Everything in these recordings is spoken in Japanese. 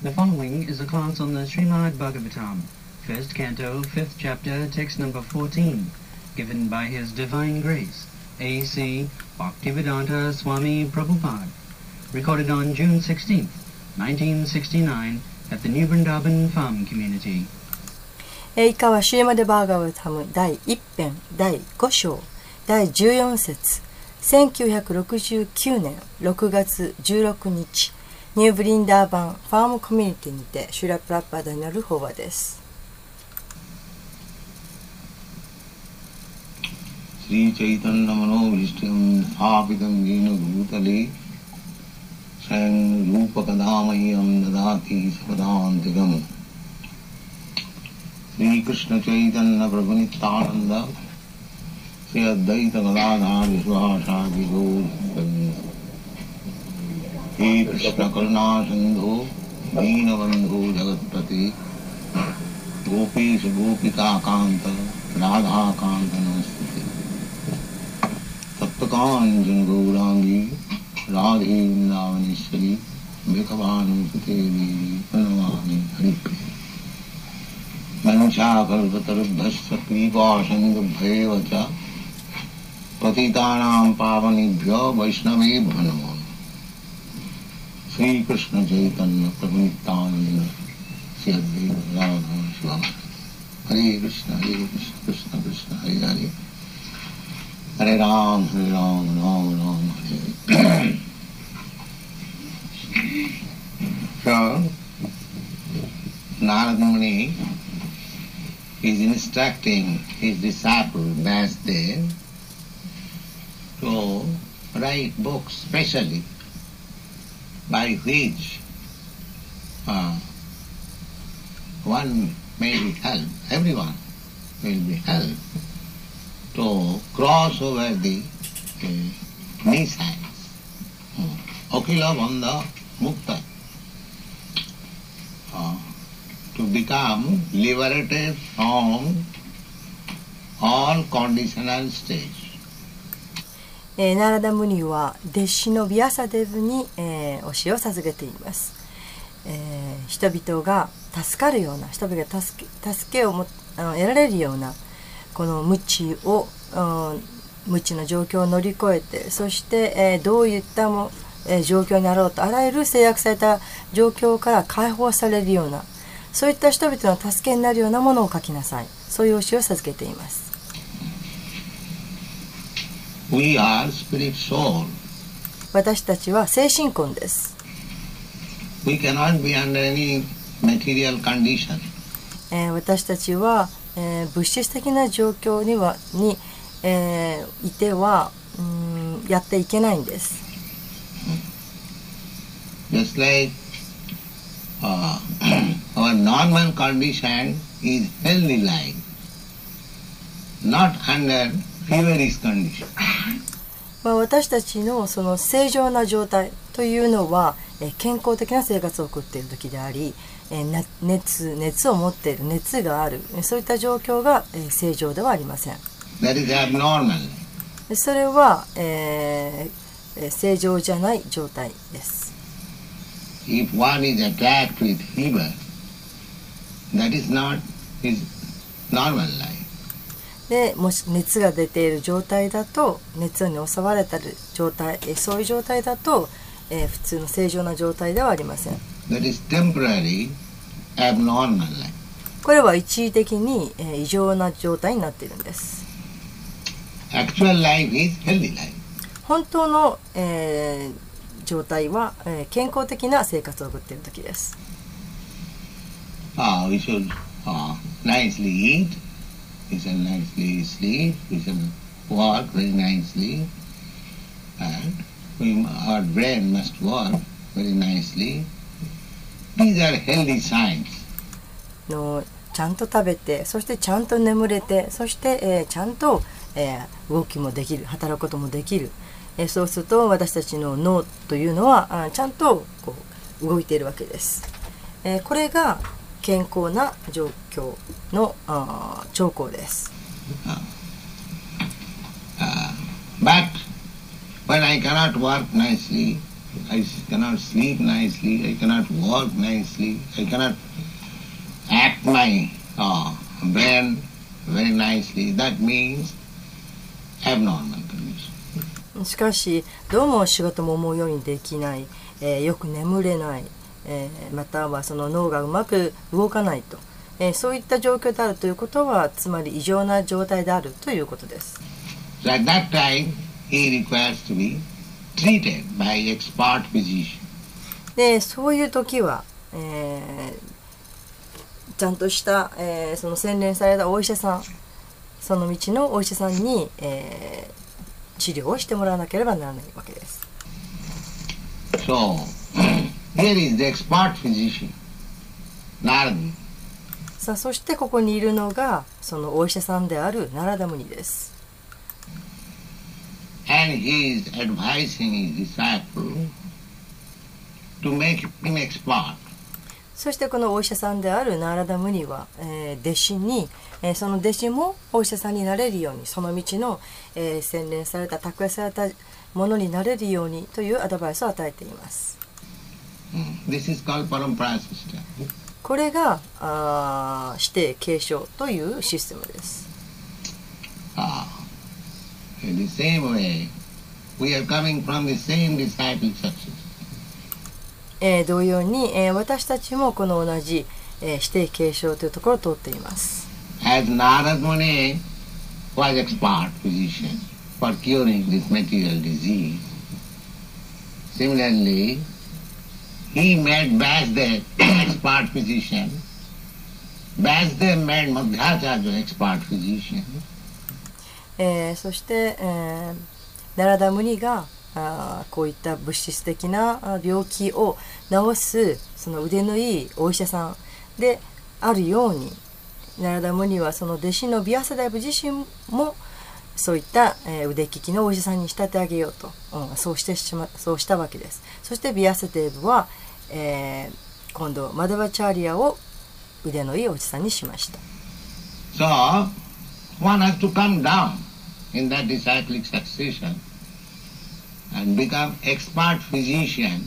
The following is a class on the Srimad Bhagavatam, first canto, fifth chapter, text number 14, given by His Divine Grace, A.C. Bhaktivedanta Swami Prabhupada, recorded on June 16th, 1969, at the New Vrindavan Farm Community. 以下はシュリマデバーガワタム第1編第5章第14節1969年6月16日ニューブリンダーバンファームコミュニティにてシュラプラッパーダによる法話です。 スリーチャイタンナマノビシティムサーピタンギーノグータリサンルーパカダーマイアムダダティサパダーンテガムSri Krishna Chaitanya Prabhu Nityananda Sri Advaita Gadadhar Vishwasadi Gaur He Krishna Karuna Sindhu Deena Bandhu Jagatpati Gopesha Gopika Kanta Radha Kanta Namastute Saptakanjan Gaurangi Radhe Vrindavaneshwari Bhikavanu Sutevi Pranamami Haripriya मनुष्याकल्पतरुभ्यश्च कृपासंगभ्येव च पतितानां पावनेभ्यो वैष्णवेभ्यो नमो श्री कृष्ण चैतन्य प्रभु नित्यानंद श्री अद्वैत गदाधर शिवासादि हरे कृष्ण कृष्ण कृष्ण हरे हरे हरे राम राम राम हरे So, Narada Muni is instructing his disciple Vyasdev to write books specially by which one may be helped, everyone will be helped to cross over the missiles. Akila Bandha Mukta. To become liberated from all conditional stage. ナラダムニは弟子のビアサデブに、教えを授けています。人々が助かるような、人々が助けを得られるようなこの無知の状況を乗り越えて、そして、どういった状況になろうとあらゆる制約された状況から解放されるような、そういった人々の助けになるようなものを書きなさい。そういう教えを授けています。 We are spirit soul. 私たちは精神魂です。 We cannot be under any material condition. 私たちは、物質的な状況にいては、やっていけないんです。 Just like our normal condition is healthy life, not under feverish condition. 私たちのその正常な状態というのは、健康的な生活を送っている時であり、熱を持っている、熱がある、そういった状況が、正常ではありません。 That is abnormal. それは、正常じゃない状態です。 If one is attacked with fever, that is not his normal life. でもし熱が出ている状態だと、熱に襲われた状態、そういう状態だと、普通の正常な状態ではありません。 That is temporary, abnormal life. これは一時的に、異常な状態になっているんです。 Actual life is healthy life. 本当の、状態は、健康的な生活を送っている時です。 We should nicely eat, we should nicely sleep, we should work very nicely, and our brain must work very nicely. These are healthy signs. ちゃんと食べて、そしてちゃんと眠れて、そして、ちゃんと、動きもできる、働くこともできる。そうすると私たちの脳というのはちゃんとこう動いているわけです。これが健康な状況の兆候です。 But when I cannot work nicely, I cannot sleep nicely, I cannot work nicely, I cannot act my brain very nicely. That means abnormal condition. しかしどうも仕事も思うようにできない、よく眠れない、またはその脳がうまく動かないと、そういった状況であるということはつまり異常な状態であるということです。 So at that time, he requires to be treated by expert physician. でそういう時は、ちゃんとした、その洗練されたお医者さん、その道のお医者さんに、治療をしてもらわなければならないわけです。 So, here is the expert physician, Narada. さあそしてここにいるのがそのお医者さんであるナラダムニです。 And he is advising his disciple to make him expert. そしてこのお医者さんであるナラダムニは、弟子に、その弟子もお医者さんになれるようにその道の、洗練された卓越されたものになれるようにというアドバイスを与えています。 This is called Parampara system. これが師弟継承というシステムです。 In the same way, we are coming from the same disciple success. 同様に、私たちもこの同じ、師弟継承というところを通っています。 As Narada Muni was expert physician for curing this material disease, similarly, he made Vasudev expert physician. Vasudev made Madhvacharya expert physician. そして、ナラダムニがこういった物質的な病気を治すその腕のいいお医者さんであるように、ナラダムニはその弟子のビアサデーブ自身もそういった、腕利きのお医者さんに仕立て上げようと、そうしたわけです。そしてビアサデーブは、今度マダバチャーリアを腕のいいお医者さんにしました。 So, one has to come down in that disciplic succession and become expert physician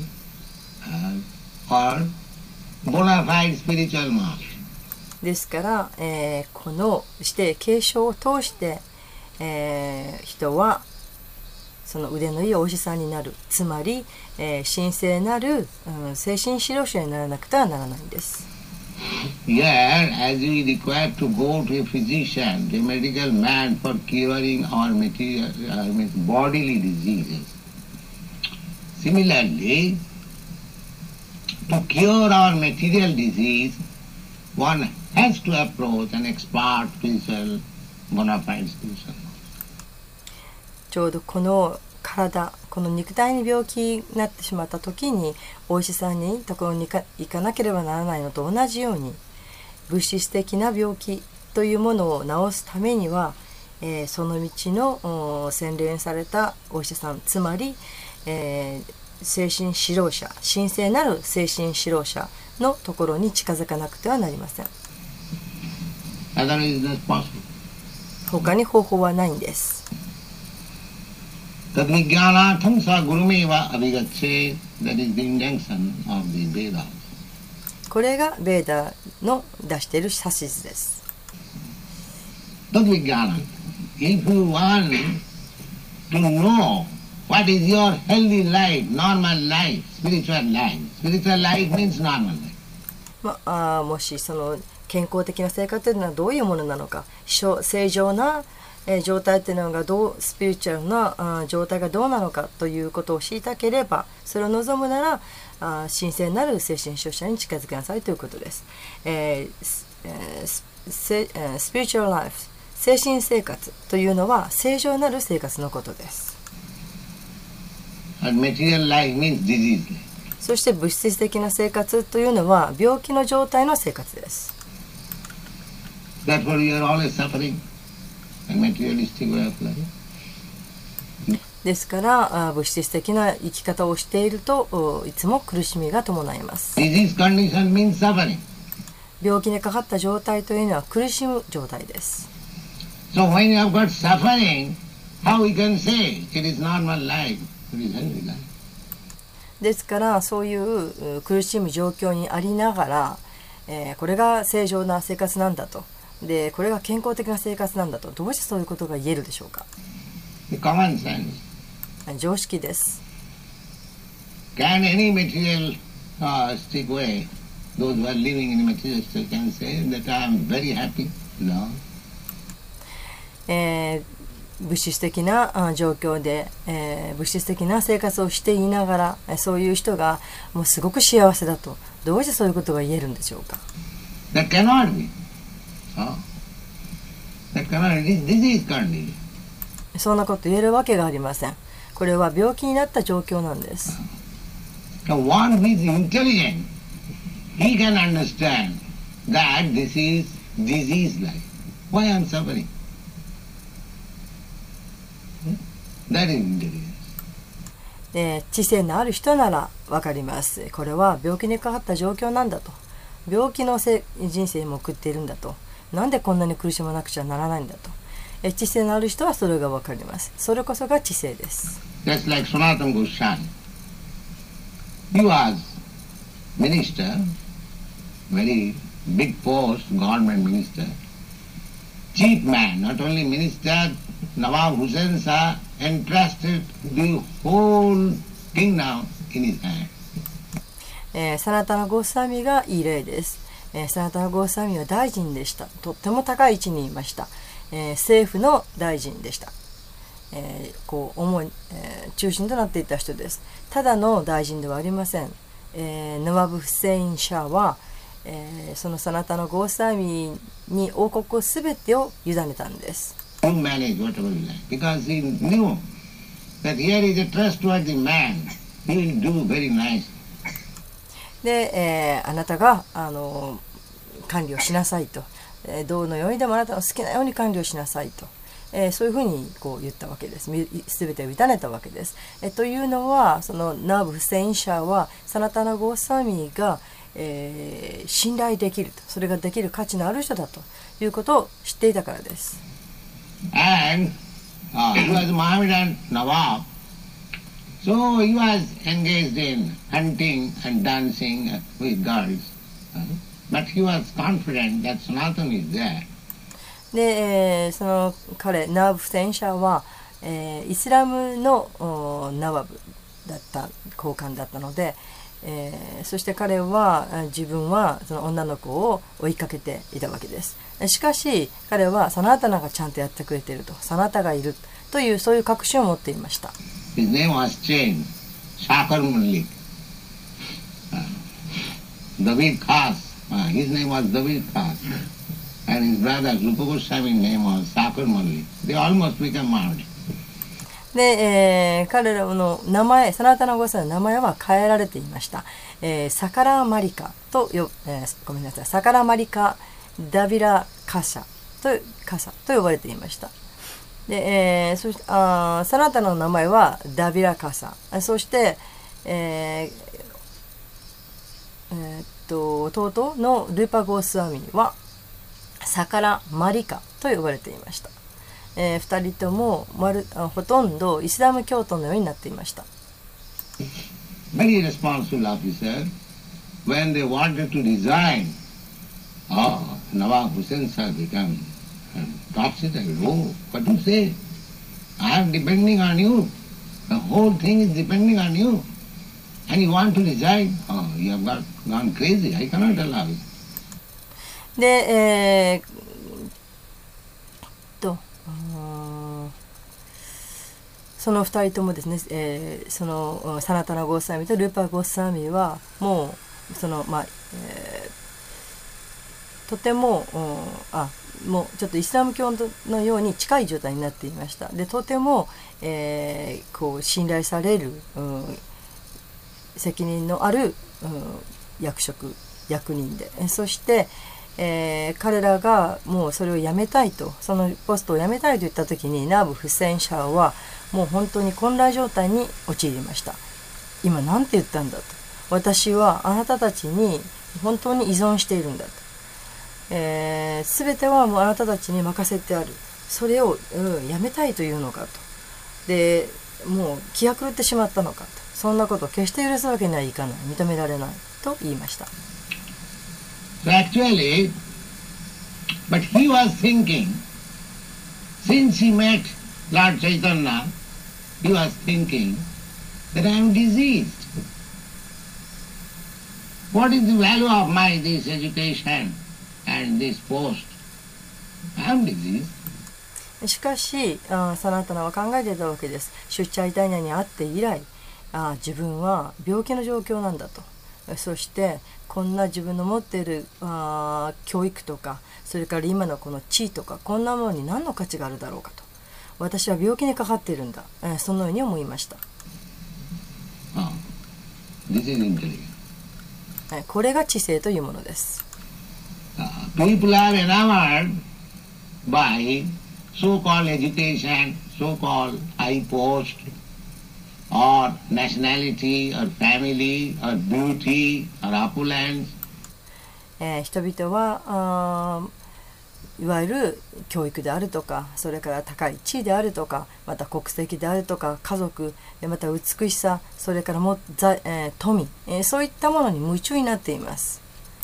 or bona fide spiritual master. ですから、このして継承を通して、人はその腕のいいお医者さんになる、つまり、神聖なる、精神指導者にならなくてはならないんです。 Here, as we require to go to a physician, a medical man for curing our material, bodily diseases. Similarly, to cure our material disease, one has to approach an expert spiritual, bona fide spiritual. ちょうどこの体、この肉体に病気になってしまった時にお医者さんにところに行かなければならないのと同じように、物質的な病気というものを治すためには、その道の洗練されたお医者さん、つまり、精神指導者、神聖なる精神指導者のところに近づかなくてはなりません。他に方法はないんです。 Tadvijnanatham sa gurumeva abhigache, that is the intention of the Vedas. これがベーダの出している指図です。 Tadvijnana, if you want to know what is your healthy life, normal life, spiritual life, spiritual life means normal life. もしその健康的な生活というのはどういうものなのか、正常な状態というのがスピリチュアルな状態がどうなのかということを知りたければ、それを望むなら神聖なる精神指導者に近づきなさいということです。スピリチュアルライフ、精神生活というのは正常なる生活のことです。 Material life means disease. そして物質的な生活というのは病気の状態の生活です。 Therefore you are always suffering. ですから物質的な生き方をしているといつも苦しみが伴います。病気にかかった状態というのは苦しむ状態です。 So when you have got suffering, how we can say it is normal life, it is healthy life? ですからそういう苦しむ状況にありながら、これが正常な生活なんだと、でこれが健康的な生活なんだと、どうしてそういうことが言えるでしょうか。 Common sense. 常識です。 Can any materialistic way, those who are living in a materialistic can say that I am very happy? No. 物質的な状況で、物質的な生活をしていながら、そういう人がもうすごく幸せだと、どうしてそういうことが言えるんでしょうか。 That cannot be. That cannot be. This is condition. そんなこと言えるわけがありません。これは病気になった状況なんです。 So one who is intelligent, he can understand that this is disease life. Why I am suffering? That is intelligence. 知性のある人ならわかります。これは病気にかかった状況なんだと。病気の人生も送っているんだと。なんでこんなに苦しまなくちゃならないんだと。知性のある人はそれがわかります。それこそが知性です。 Just like Sanatana Goswami. He was minister, very big post, government minister. Chief man, not only minister, Nawab Hussain Shah entrusted the whole kingdom in his hand. サナタナ・ゴースワミがいい例です。サナタナ・ゴースワミは大臣でした。とっても高い位置にいました。政府の大臣でした。中心となっていた人です。ただの大臣ではありません。ナワブ・フセイン・シャーは、そのサナタナ・ゴースワミに王国すべてを委ねたんです。で、あなたが管理をしなさいと、どのようにでもあなたの好きなように管理をしなさいと。そういうふうに言ったわけです。すべてを委ねたわけです。というのは、そのナーブ・フセイン・シャーはサナタナ・ゴースワミが、信頼できると、それができる価値のある人だということを知っていたからです。 And he was Mohammedan Nawab, so he was engaged in hunting and dancing with girls, but he was confident that Sanatana is there. で、その彼ナワブ・フセイン・シャーは、イスラムのナワブだった高官だったので、そして彼は自分はその女の子を追いかけていたわけです。しかし彼はサナタナがちゃんとやってくれていると、サナタがいるというそういう確信を持っていました。 His name was changed, Sakar Malik. David Khas, his name was David Khas.And his brother Rupa Goswami's name was Sakar Malik. They almost became married. で、彼らの名前、サナタナゴースワミの名前は変えられていました。サカラマリカとごめんなさい、サカラマリカダビラカサと呼ばれていました。で、そしてサナタナの名前はダビラカサ。そして、弟のルーパゴースワミはサカラマリカと呼ばれていました。2人ともほとんどイスラム教徒のようになっていました。 Very responsible officer, when they wanted to resign, Nawab Hussain Shah became topsy-turvy. Oh, what do you say? I am depending on you. The whole thing is depending on you. And you want to resign? Oh, you have gone crazy. I cannot allow it. で、その2人ともですね、そのサナタナ・ゴースワミとルーパー・ゴースワミはもうそのとてももうちょっとイスラム教のように近い状態になっていました。でとても、信頼される、責任のある、役人で、そして彼らがもうそれをやめたいと、そのポストをやめたいと言った時にナーブ・フセイン・シャーはもう本当に混乱状態に陥りました。今なんて言ったんだと、私はあなたたちに本当に依存しているんだと、全てはもうあなたたちに任せてある、それを、やめたいというのかと、でもう気が狂ってしまったのかと、 そんなことを決して許すわけにはいかない、認められないと言いました。 So actually, but he was thinking, since he met Lord Chaitanya, he was thinking that I am diseased. What is the value of my this education and this post? I am diseased. しかしサナタナは考えていたわけです。シュッチャイタニャに会って以来、自分は病気の状況なんだと。そしてこんな自分の持っている教育とか、それから今のこの地位とか、こんなものに何の価値があるだろうかと。私は病気にかかっているんだ、そのように思いました。これが知性というものです。 People are enamored by so-called education, so-called high post, or nationality, or family, or beauty, or opulence. 人々はいわゆる教育であるとか、それから高い地位であるとか、また国籍であるとか、家族、また美しさ、それから富、そういったものに夢中になっています。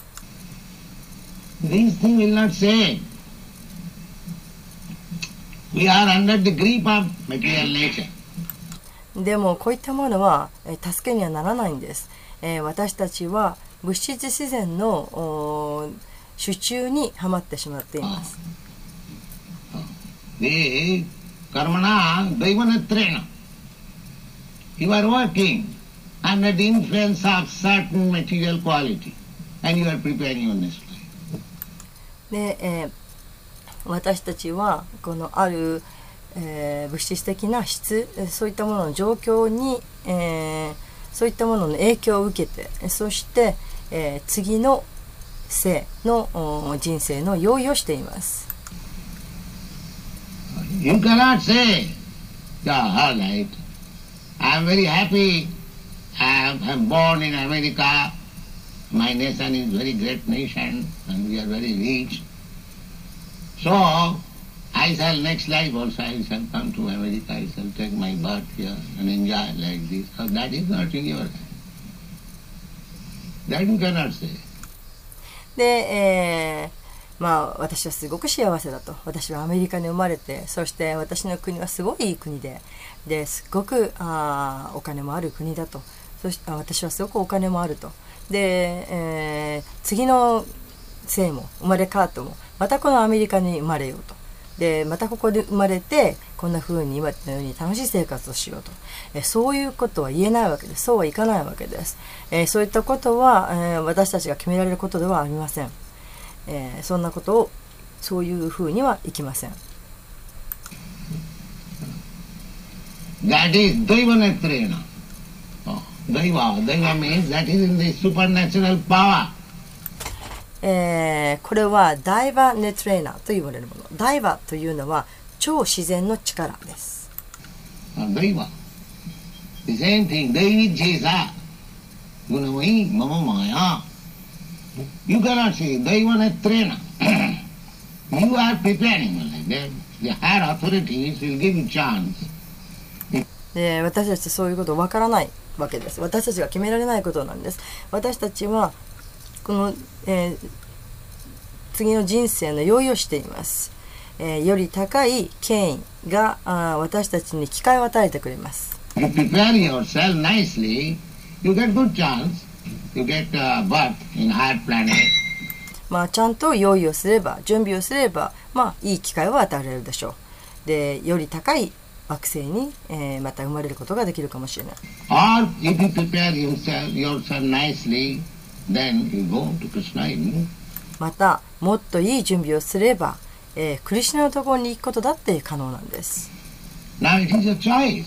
These things will not say. We are under the grip of material nature. でもこういったものは助けにはならないんです。私たちは物質自然の手中にはまってしまっています。 The karmana daivanathrena. You are working under the influence of certain material quality, and you are preparing your next life. で、私たちはこのある、物質的な質、そういったものの状況に、そういったものの影響を受けて、そして、次の生の人生の用意をしています。 You cannot say, all right, I am very happy, I am born in America, my nation is very great nation, and we are very rich. So, I shall next life also, I shall come to America, I shall take my birth here and enjoy like this. So that is not in your hand. That you cannot say. で、私はすごく幸せだと。私はアメリカに生まれて、そして私の国はすごいいい国で、すごくお金もある国だと。そして私はすごくお金もあると。で、次の生も生まれ変わってもまたこのアメリカに生まれようと。でまたここで生まれてこんな風に今のように楽しい生活をしようと、そういうことは言えないわけです。そうはいかないわけです。そういったことは、私たちが決められることではありません。そんなことをそういう風にはいきません。 That is Daivanathrena. Daiva means that is in the supernatural power. これはダイバネトレーナーと言われるもの。ダイバというのは超自然の力です。 ダイバ The same thing. Daivijjesa Gunamai Mama Maya. You cannot say Daivanathrena. You are preparing like that. The higher authorities will give you chance. で私たちそういうことわからないわけです。私たちが決められないことなんです。私たちはこの、次の人生の用意をしています。より高い権威が私たちに機会を与えてくれます。 You prepare yourself nicely, you get good chance, you get birth in higher planet. ちゃんと用意をすれば、準備をすれば、いい機会を与えられるでしょう。で、より高い惑星に、また生まれることができるかもしれない。 Or if you prepare yourself nicely, then you go to Krishna. また、もっといい準備をすれば、クリシュナのところに行くことだって可能なんです。 Now it is a choice.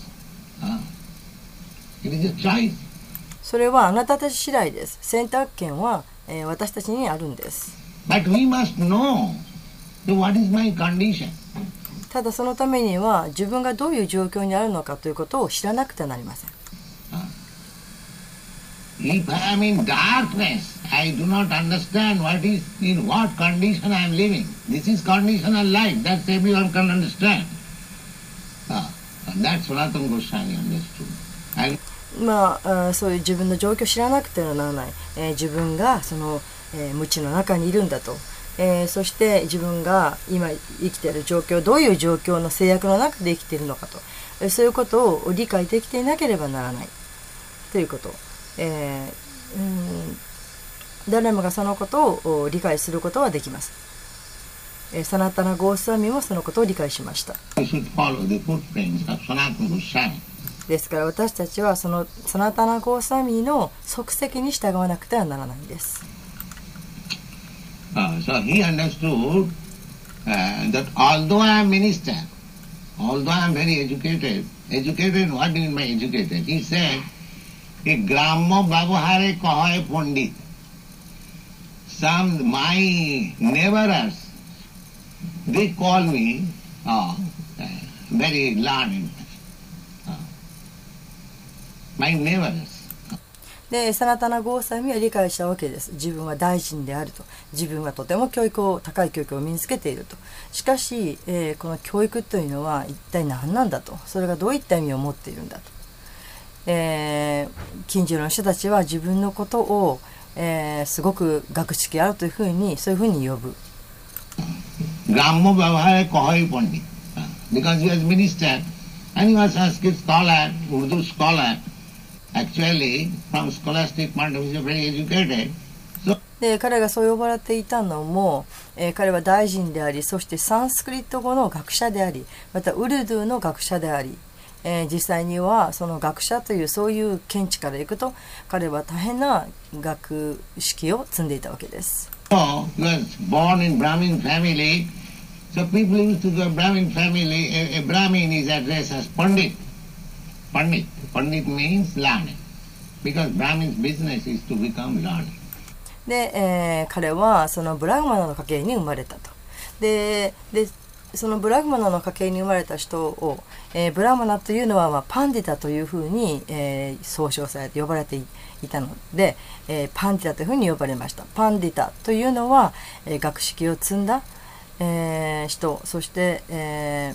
It is a choice. それはあなたたち次第です。選択権は、私たちにあるんです。 But we must know what is my condition. ただそのためには自分がどういう状況にあるのかということを知らなくてはなりません。 If I am in darkness, I do not understand in what condition I am living. This is conditional life. That's everyone can understand. That's Sanatana Goswami understood. そういう自分の状況を知らなくてはならない、自分がその、無知の中にいるんだと、そして自分が今生きている状況、どういう状況の制約の中で生きているのかと、そういうことを理解できていなければならないということ、誰もがそのことを理解することはできます。サナタナ・ゴースワミもそのことを理解しました。ですから私たちはそのサナタナ・ゴースワミの足跡に従わなくてはならないんです。 So he understood that although I am minister, although I am very educated, what do you mean by educated? He said, Grammo Babahare Kahoy Pandit. Some my neighbors, they call me very learned. My neighbors. でサナタナ・ゴースワミは理解したわけです。自分は大臣であると、自分はとても高い教育を身につけていると。しかし、この教育というのは一体何なんだと、それがどういった意味を持っているんだと、近所の人たちは自分のことを、すごく学識あるというふうにそういうふうに呼ぶ。 Grammo Babahare Kahoy Pandit. Because he was minister and he was Sanskrit scholar, Urdu scholar. Actually, from scholastic point of view, very educated. で彼がそう呼ばれていたのも、彼は大臣であり、そしてサンスクリット語の学者であり、またウルドゥーの学者であり、実際にはその学者というそういう見地からいくと、彼は大変な学識を積んでいたわけです。 So, he was born in Brahmin family. So people used to go Brahmin family. A Brahmin is addressed as Pandit. Pandit. Pandit means learned. Because Brahmin's business is to become learned. で、彼はそのブラグマナの家系に生まれたと。でそのブラグマナの家系に生まれた人を、ブラグマナというのは、パンディタというふうに、総称されて呼ばれていたので、パンディタというふうに呼ばれました。パンディタというのは、学識を積んだ、人、そして、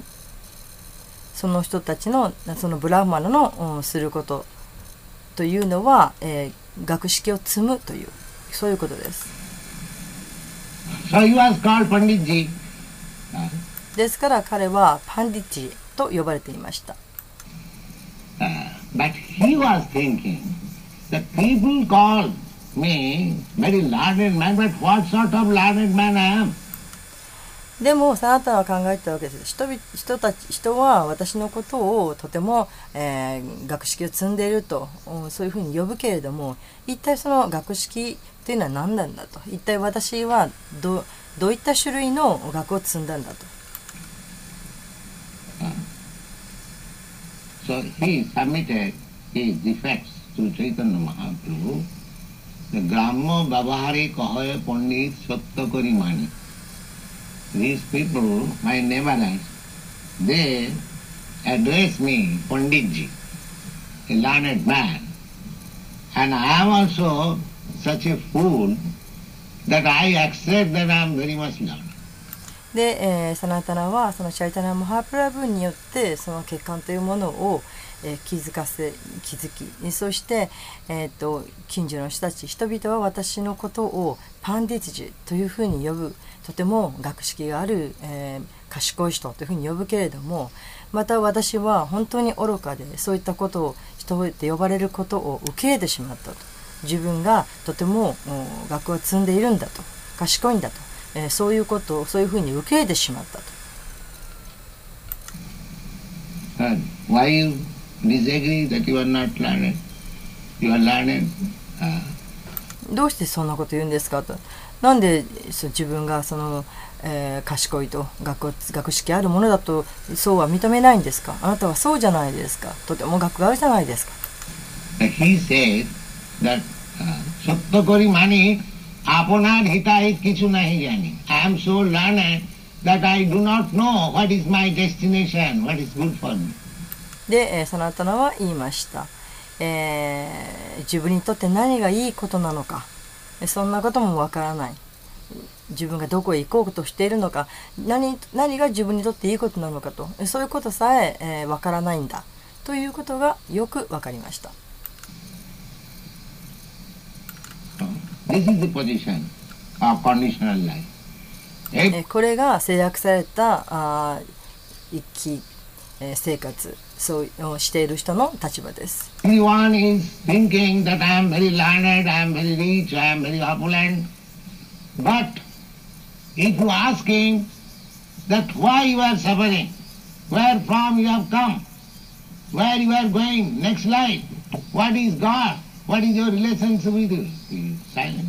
その人たちのそのブラグマナの、することというのは、学識を積むというそういうことです。 So he was called Panditji. ですから彼はパンディッチと呼ばれていました。 But he was thinking that people call me very learned man, but what sort of learned man I am? でもサナタナは考えてたわけです。人は私のことをとても、学識を積んでいると、そういうふうに呼ぶけれども、一体その学識というのは何なんだと、一体私はどういった種類の学を積んだんだと。 So he submitted his defects to Chaitanya Mahaprabhu. The Grammo Babahari Kahoy Pandit Sattakari Mani. These people, my neighbors, they address me Panditji, a learned man. And I am also such a fool that I accept that I am very much learned. で、サナタナはそのチャイタナ・マハプラブによってその欠陥というものを、気づき、そして、近所の人々は私のことをパンディツジというふうに呼ぶ、とても学識がある、賢い人というふうに呼ぶけれども、また私は本当に愚かでそういったことを人で呼ばれることを受け入れてしまったと。自分がとても学を積んでいるんだと、賢いんだと。そういうことをそういうふうに受け入れてしまったと。 Why you disagree that you are not learned? You are learned. どうしてそんなこと言うんですかと。なんで自分がその、賢いと学識あるものだとそうは認めないんですか。あなたはそうじゃないですか。とても学があるじゃないですか。 He said that Sattakari Mani আপনার হিতাহিত কিছু নাহি জানি. I am so learned that I do not know what is my destination, what is good for me. で、サナタナは言いました。自分にとって何がいいことなのか、そんなこともわからない。自分がどこへ行こうとしているのか、何が自分にとっていいことなのかと、そういうことさえわからないんだということがよくわかりました。 This is the position of conditional life. これが制約された生き、生活そうしている人の立場です。 Everyone is thinking that I am very learned, I am very rich, I am very opulent. But if you ask him that why you are suffering, where from you have come, where you are going, next life, what is God, what is your relationship with you, he is silent.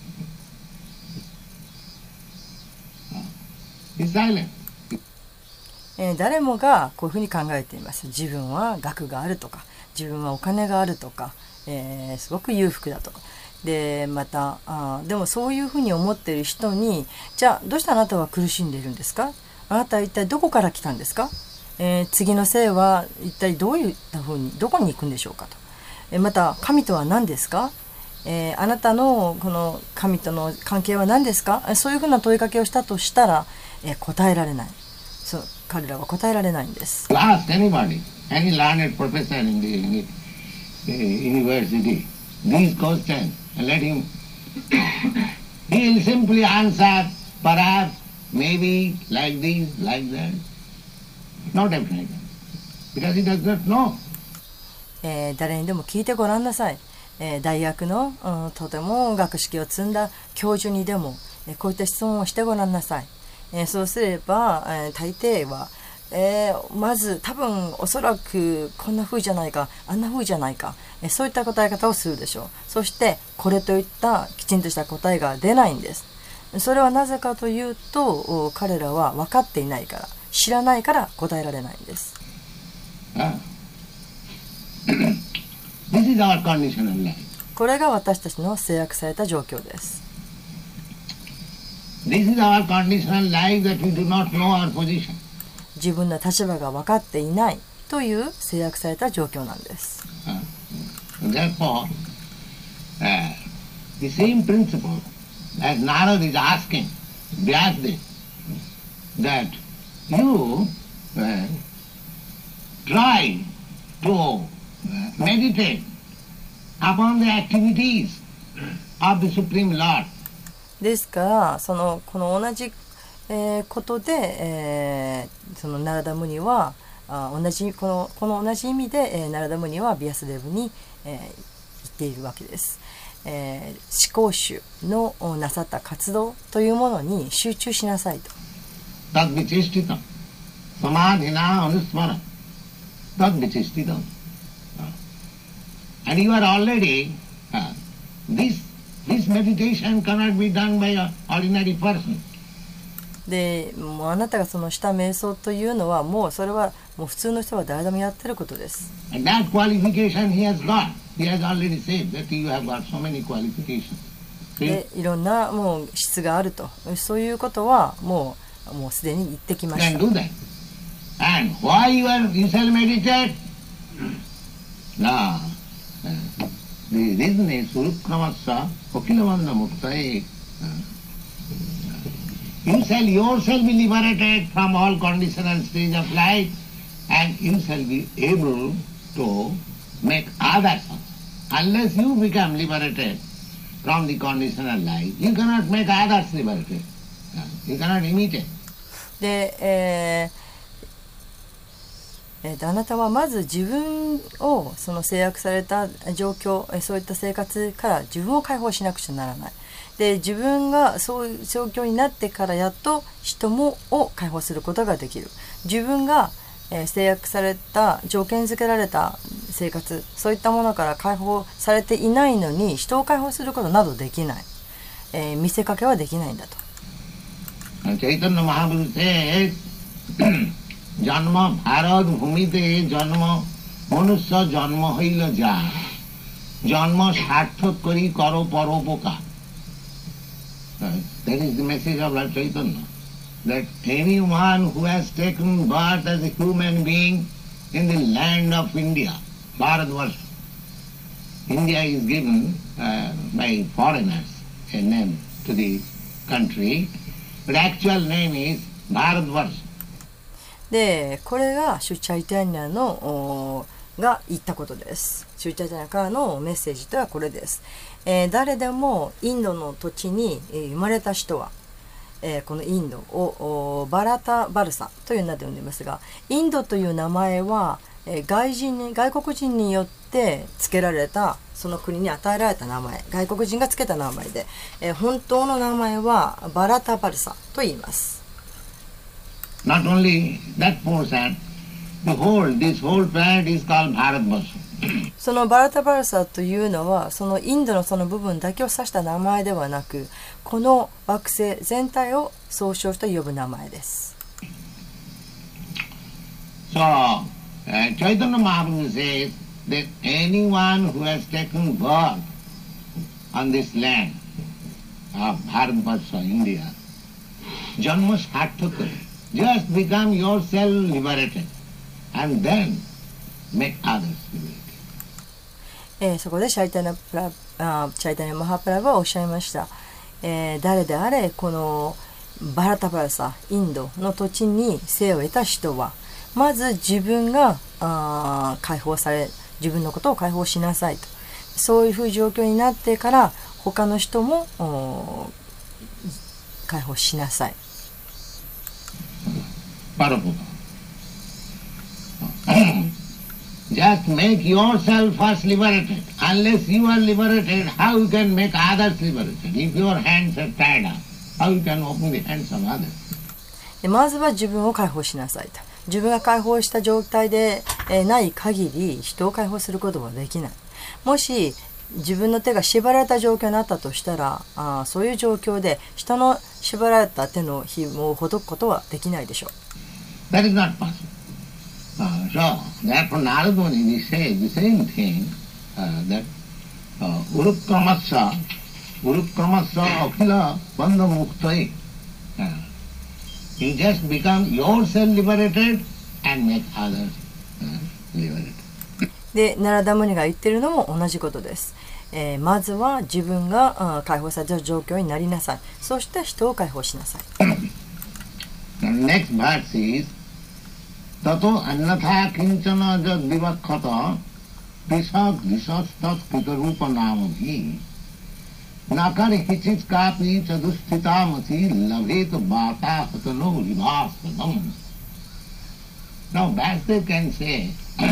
He is silent. 誰もがこういうふうに考えています。自分は学があるとか、自分はお金があるとか、すごく裕福だとか。でまたでもそういうふうに思っている人に、じゃあどうしてあなたは苦しんでいるんですか？あなたは一体どこから来たんですか？次の生は一体どういったふうにどこに行くんでしょうかと。また神とは何ですか？あなたのこの神との関係は何ですか？そういうふうな問いかけをしたとしたら、答えられない。そう彼らは答えられないんです。 Ask anybody, any learned professor in the university, these questions, and let him. He will simply answer, perhaps, maybe, like this, like that. No definite, because he does not know. 誰にでも聞いてごらんなさい。大学の、とても学識を積んだ教授にでも、こういった質問をしてごらんなさい。そうすれば、大抵は、まず多分おそらくこんな風じゃないかあんな風じゃないか、そういった答え方をするでしょう。そしてこれといったきちんとした答えが出ないんです。それはなぜかというと、彼らは分かっていないから、知らないから答えられないんです。 This is our conditional life. これが私たちの制約された状況です。 This is our conditional life that we do not know our position. 自分の立場が分かっていないという制約された状況なんです。 Therefore, the same principle as Narad is asking Vyasadeva, that you try to meditate upon the activities of the Supreme Lord. ですからこの同じ、ことで、そのナラダムニはこの同じ意味で、ナラダムニはビアスデブに、言っているわけです。思考主のなさった活動というものに集中しなさいと。 And you are already, this meditation cannot be done by an ordinary person. でもうあなたがそのした瞑想というのはもうそれはもう普通の人は誰でもやってることです。 And that qualification he has got. He has already said that you have got so many qualifications. でいろんなもう質があると、そういうことはもうすでに言ってきました。 Can do that. And why you shall meditate? Now, the reason is Surukramasa Kokilavanda Muktae. You shall yourself be liberated from all conditional stage of life, and you shall be able to make others. Unless you become liberated from the conditional life, you cannot make others liberated. You cannot imitate. で、あなたはまず自分をその制約された状況、そういった生活から自分を解放しなくちゃならない。で自分がそういう状況になってからやっと人を解放することができる。自分が、制約された条件付けられた生活、そういったものから解放されていないのに人を解放することなどできない、見せかけはできないんだと。 Chaitanya Mahaprabhu says, Janma Bharad Bhumite Janma Manusya Janma Haila Ja Janma Sarthak Kari Karo Paropoka. That is the message of Lord Chaitanya. That anyone who has taken birth as a human being in the land of India, Bharatvarsha, India is given by foreigners a name to the country, but actual name is Bharatvarsha. でこれがシュチャイタニアのが言ったことです。シュチャイタニアからのメッセージとはこれです。 誰でもインドの土地に生まれた人は、このインドをバラタバルサという名で呼んでいますが、インドという名前は外国人によって付けられた、その国に与えられた名前、外国人が付けた名前で、本当の名前はバラタバルサと言います。 Not only that portion, this whole planet is called Bharatvarsha. そのバラタバルサというのは、そのインドのその部分だけを指した名前ではなく、この惑星全体を総称して呼ぶ名前です。 So, Chaitanya Mahaprabhu says that anyone who has taken birth on this land of Bharatvarsha, India, Janma Sarthaka, just become yourself liberated and then make others liberated. そこでチャイタニャマハプラブはおっしゃいました。誰であれこのバラタバルサ、インドの土地に生を得た人は、まず自分が解放され、自分のことを解放しなさいと、そういうふうな状況になってから他の人も解放しなさい。 Just make yourself first liberated. Unless you are liberated, how you can make others liberated? If your hands are tied up, how you can open the hands of others? まずは自分を解放しなさいと。自分が解放した状態でない限り人を解放することはできない。もし自分の手が縛られた状況になったとしたら、そういう状況で人の縛られた手の紐をほどくことはできないでしょう。 That is not possible. So, therefore Narada Muni says the same thing, that Urukramasya Akhila Bandha Muktai. You just become yourself liberated and make others liberated. で、ナラダムニが言ってるのも同じことです。まずは自分が解放された状況になりなさい。そして人を解放しなさい。 The next verse is Tato annatha kinchana jad vivakkata pisat disastat kitarupa namabhi nakari kichit kapi chadusthitamati labhet bata hatano rivaspadam. Now Vasudev can say,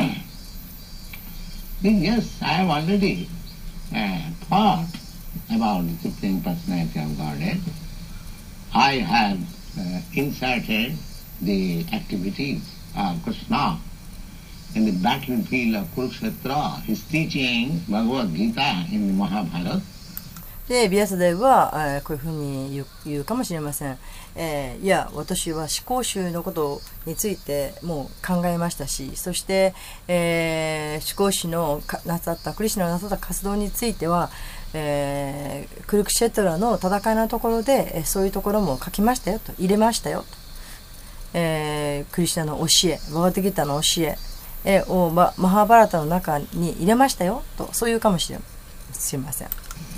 yes, I have already thought about the Supreme Personality of Godhead. I have inserted the activities of Krishna in the battlefield of Kurukshetra. He is teaching Bhagavad Gita in the Mahabharata. で、ビアサデブはこういうふうに言うかもしれません。いや、私は思考集のことについてもう考えましたし、そして、思考集のなさったクリシュナのなさった活動については、クルクシェトラの戦いのところで、そういうところも書きましたよと、入れましたよと。クリシュナの教え、バガヴァッドギータの教えをマハーバラタの中に入れましたよと、そういうかもしれません。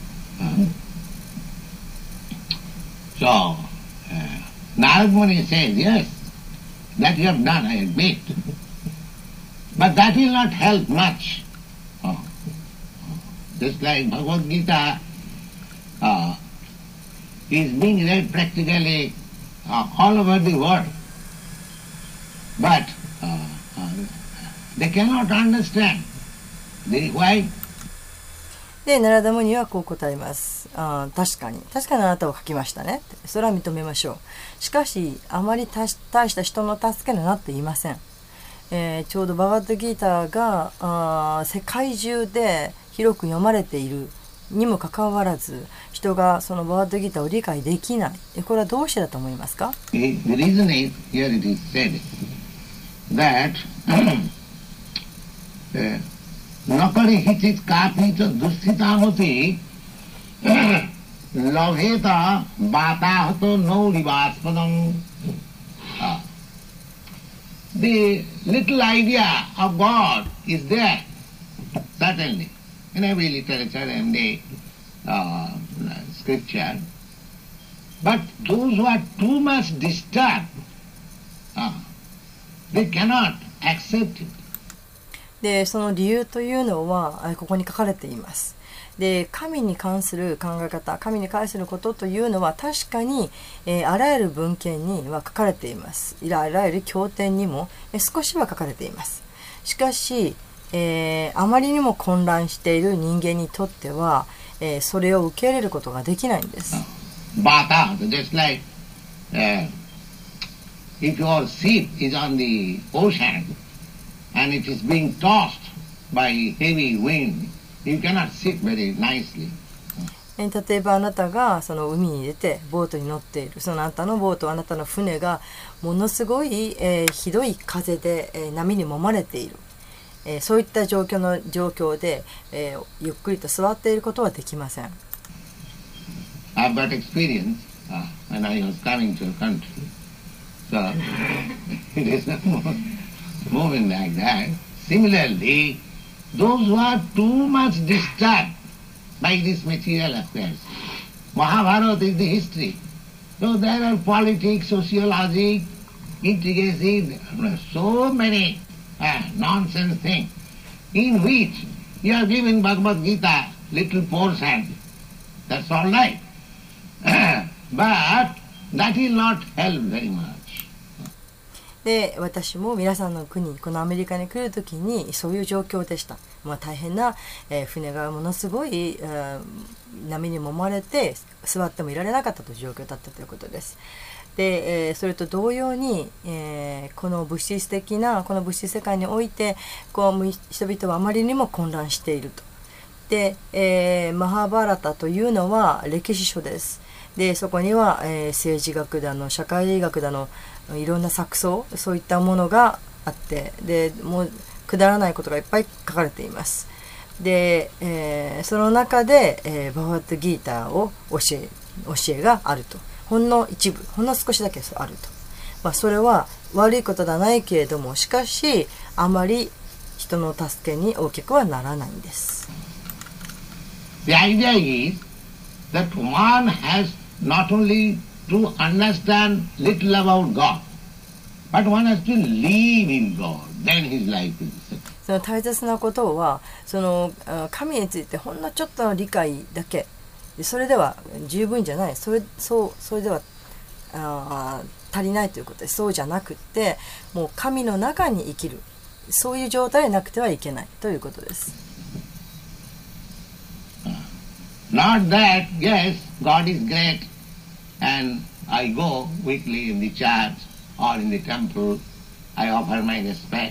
So, Narada Muni says, yes, that you have done, I admit. But that will not help much. Just like Bhagavad Gita is being read practically all over the world. But they cannot understand. Why? で、ナラダムニはこう答えます。確かにあなたを書きましたね。それは認めましょう。しかし、あまり大した人の助けになっていません。ちょうどバガヴァッドギータが世界中で広く読まれているにもかかわらず、人がそのバガヴァッドギータを理解できない。これはどうしてだと思いますか？ The reason is, here it is said, that Nakari hichit kapi cha dusthhitamati lavheta batahato no rivaspadam. The little idea of God is there, certainly, in every literature and the scripture. But those who are too much disturbed, they cannot accept it. で、その理由というのはここに書かれています。 で、神に関する考え方、神に関することというのは確かに、あらゆる文献には書かれています。あらゆる経典にも、少しは書かれています。しかし、あまりにも混乱している人間にとっては、それを受け入れることができないんです。 Bata, just like if your ship is on the ocean and it is being tossed by heavy wind, you cannot sit very nicely. 例えばあなたがその海に出てボートに乗っている、そのあなたのボート、あなたの船がものすごい、ひどい風で、波に揉まれている、そういった状況で、ゆっくりと座っていることはできません。 I've got experience when I was coming to a country, so it is not moving like that. Similarly, those who are too much disturbed by this material affairs. Mahabharata is the history. So there are politics, sociology, intricacy, so many nonsense things in which you are giving Bhagavad Gita little portion. That's all right. But that will not help very much. で、私も皆さんの国、このアメリカに来るときにそういう状況でした。大変な、船がものすごい、波に揉まれて座ってもいられなかったという状況だったということです。で、それと同様に、この物質世界において人々はあまりにも混乱していると。で、マハーバーラタというのは歴史書です。で、そこには、政治学だの社会学だのいろんな錯綜、そういったものがあって、でもうくだらないことがいっぱい書かれています。で、その中で、バガヴァッドギーターを教えがあると。ほんの一部、ほんの少しだけあると。それは悪いことではないけれども、しかしあまり人の助けに大きくはならないんです。 The idea is that one has not only to understand little about God, but one has to live in God. Then his life is set. その大切なことは、その神についてほんのちょっとの理解だけ、それでは十分じゃない。それでは足りないということです。そうじゃなくって、もう神の中に生きる、そういう状態でなくてはいけないということです。 Not that, yes, God is great, and I go weekly in the church or in the temple, I offer my respect.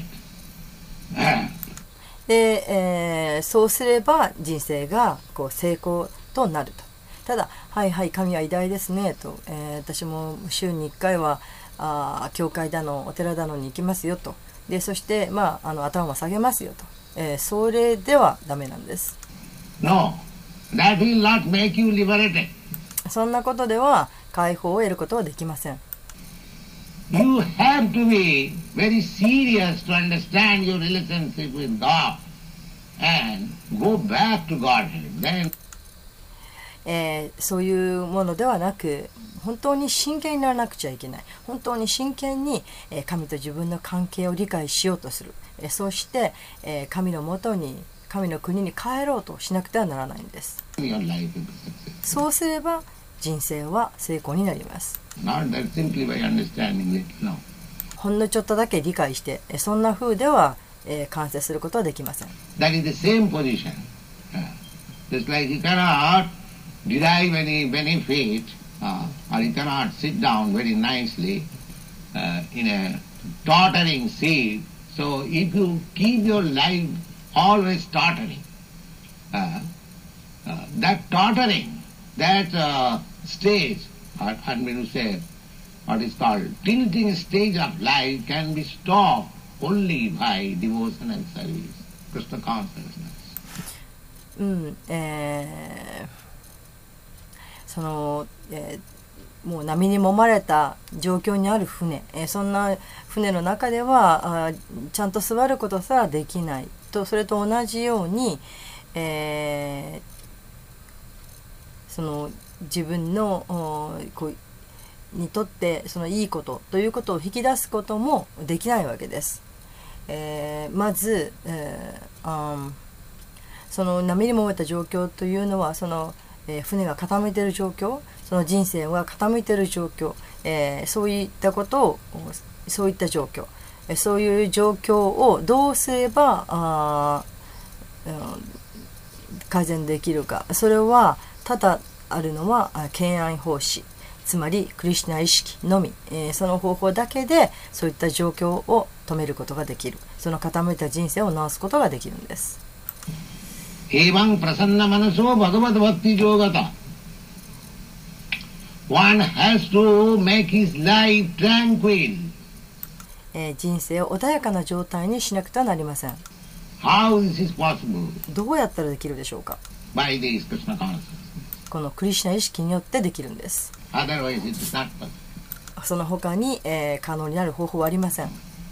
で、そうすれば人生が成功となると。ただ、はいはい、神は偉大ですねと、私も週に1回は教会だのお寺だのに行きますよと。で、そして、頭を下げますよと。それではダメなんです。 No, that will not make you liberated. そんなことでは解放を得ることはできません。 You have to be very serious to understand your relationship with God and go back to Godhead. Then そういうものではなく、本当に真剣にならなくちゃいけない。本当に真剣に神と自分の関係を理解しようとする。そして神のもとに、神の国に帰ろうとしなくてはならないんです。そうすれば人生は成功になります。ほんのちょっとだけ理解して、そんな風では完成することはできません。 That is the same position. Just like you cannot derive any benefit, or you cannot sit down very nicely in a tottering seat. So if you keep your life always tottering, that tottering, that stage, or I mean to say, what is called tilting stage of life can be stopped only by devotion and service, Krishna consciousness. その、もう波に揉まれた状況にある船、そんな船の中ではちゃんと座ることさえできないと、それと同じように、その自分のにとってそのいいことということを引き出すこともできないわけです。まず、 その波に揉めた状況というのはその、船が傾いている状況、その人生が傾いている状況、そういったことを、そういった状況、そういう状況をどうすれば改善できるか。それはただあるのは敬愛奉仕、つまりクリシュナ意識のみ、その方法だけでそういった状況を止めることができる。その傾いた人生を治すことができるんです。 エヴァンプラサンナマナソバガバダバッティジョーガタ。One has to make his life tranquil. 人生を穏やかな状態にしなくてはなりません。 How this is possible? どうやったらできるでしょうか。 By this Krishna consciousness. このクリシュナ意識によってできるんです。 Otherwise it is not possible. その他に、可能になる方法はありません。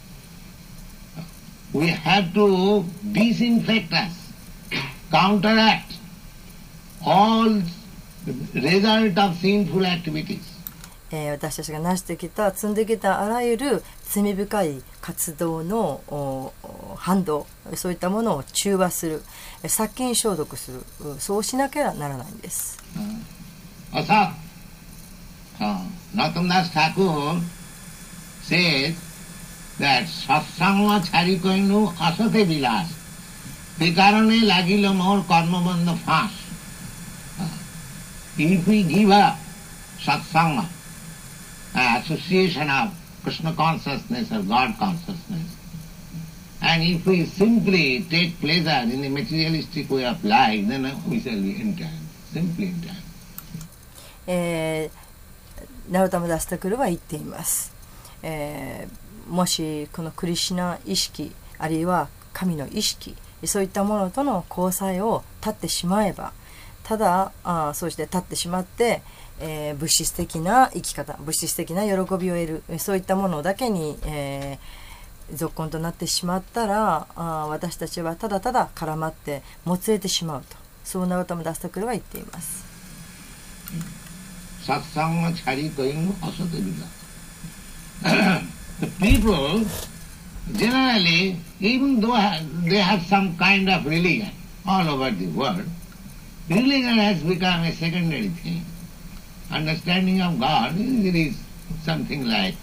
We have to disinfect us, counteract all the result of sinful activities. 私たちが成してきた、積んできたあらゆる罪深い活動の反動、そういったものを中和する、殺菌消毒する、そうしなきゃならないんです。 Asat, Natamdas Thakur says that satsanga charikoinu asate vilas, vikarane lagilo more karmabandha fast. If we give up satsanga, association of Krishna consciousness or God consciousness, and if we simply take pleasure in the materialistic way of life, then we shall be entirely, simply entirely. ナロタムダスタクルは言っています。もしこのクリシュナ意識、あるいは神の意識、そういったものとの交際を断ってしまえば、ただそうして立ってしまって、物質的な生き方、物質的な喜びを得る、そういったものだけに、続婚となってしまったら、私たちはただただ絡まってもつれてしまうと、そうナロタムダスタクルは言っています。 Satsanga charikoinu asate vilas. The people generally, even though they have some kind of religion all over the world, religion has become a secondary thing. Understanding of God is something like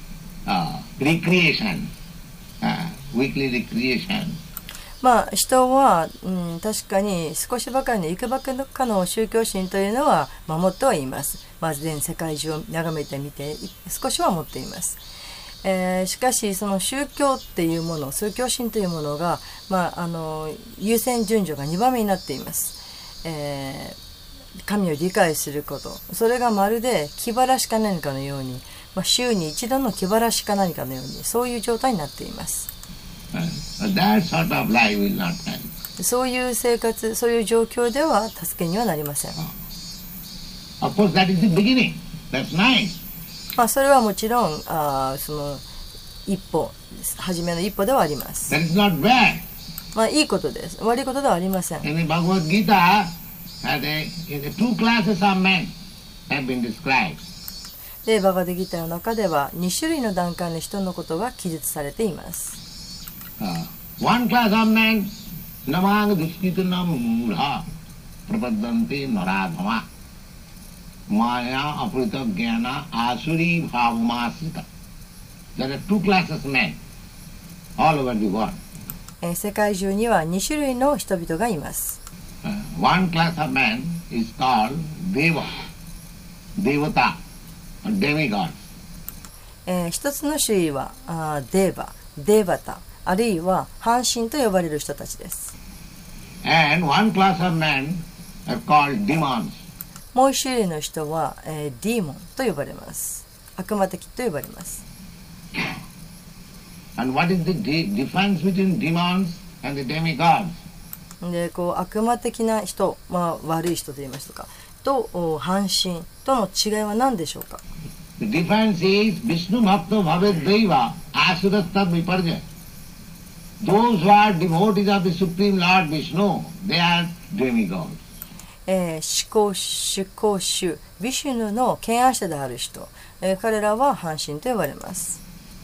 recreation, weekly recreation. 人は、確かに少しばかりのいくばくかの宗教心というのは守ってはいます。全世界中を眺めてみて少しは持っています。しかしその宗教っていうもの、宗教心というものが、優先順序が2番目になっています。神を理解すること、それがまるで気晴らしか何かのように、週に一度の気晴らしか何かのように、そういう状態になっています。 That sort of life will not help. そういう生活、そういう状況では助けにはなりません。 Of course, that is the beginning. That's nice. それはもちろんその一歩、初めの一歩ではあります。 That is not bad. いいことです。悪いことではありません。 In the Bhagavad Gita, two classes of men have been described. で、バガデギターの中では2種類の段階の人のことが記述されています。 One class of men, namang dishkitana mudha prapadante naradhama maya aprita jnana asuri bhavamasita. There are two classes of men all over the world. 世界中には2種類の人々がいます。 One class of men is called Deva, Devata, or demigod. 一つの種類はデーバ、デーバタ、あるいは半神と呼ばれる人たちです。 And one class of men are called demons. もう一種類の人は、ディーモンと呼ばれます。悪魔的と呼ばれます。 And what is the difference between demons and the demigods? で、悪魔的な人、悪い人と言いましたか、と半神との違いは何でしょうか。 The difference is Vishnu Bhakta Bhaved Deva Asuratta Viparja. Those who are devotees of the Supreme Lord Vishnu, they are demigods. 至高主ビシュヌの敬愛者である人、彼らは半神と呼ばれます。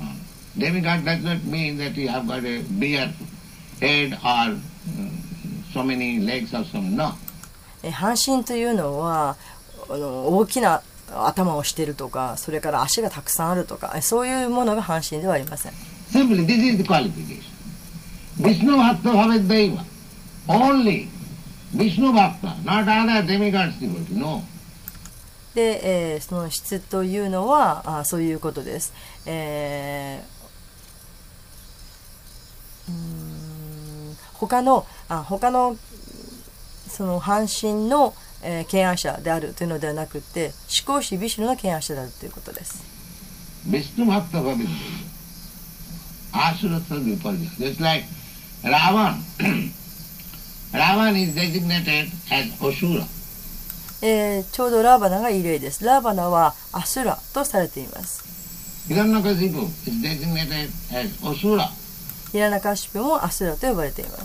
Demigod does not mean that you have got a bigger head or so many legs or so many. No. 半身というのは大きな頭をしているとか、それから足がたくさんあるとか、そういうものが半身ではありません。 Simply, this is the qualification. Vishnu Bhakta Bhavedaiva. Only Vishnu Bhakta, not other demigods devotee. No. で、その質というのはそういうことです。他のその半身の敬愛者であるというのではなくて、至高子ビシュヌの敬愛者であるということです。 Vishnu Bhakta Bhavedaiva. Asura Viparya. Just like Ravan. Ravan is designated as Asura. ちょうどラーバナがいい例です。ラーバナはアスラとされています。 Hiranyakashipu is designated as Asura. ヒラナカシピもアスラと呼ばれています。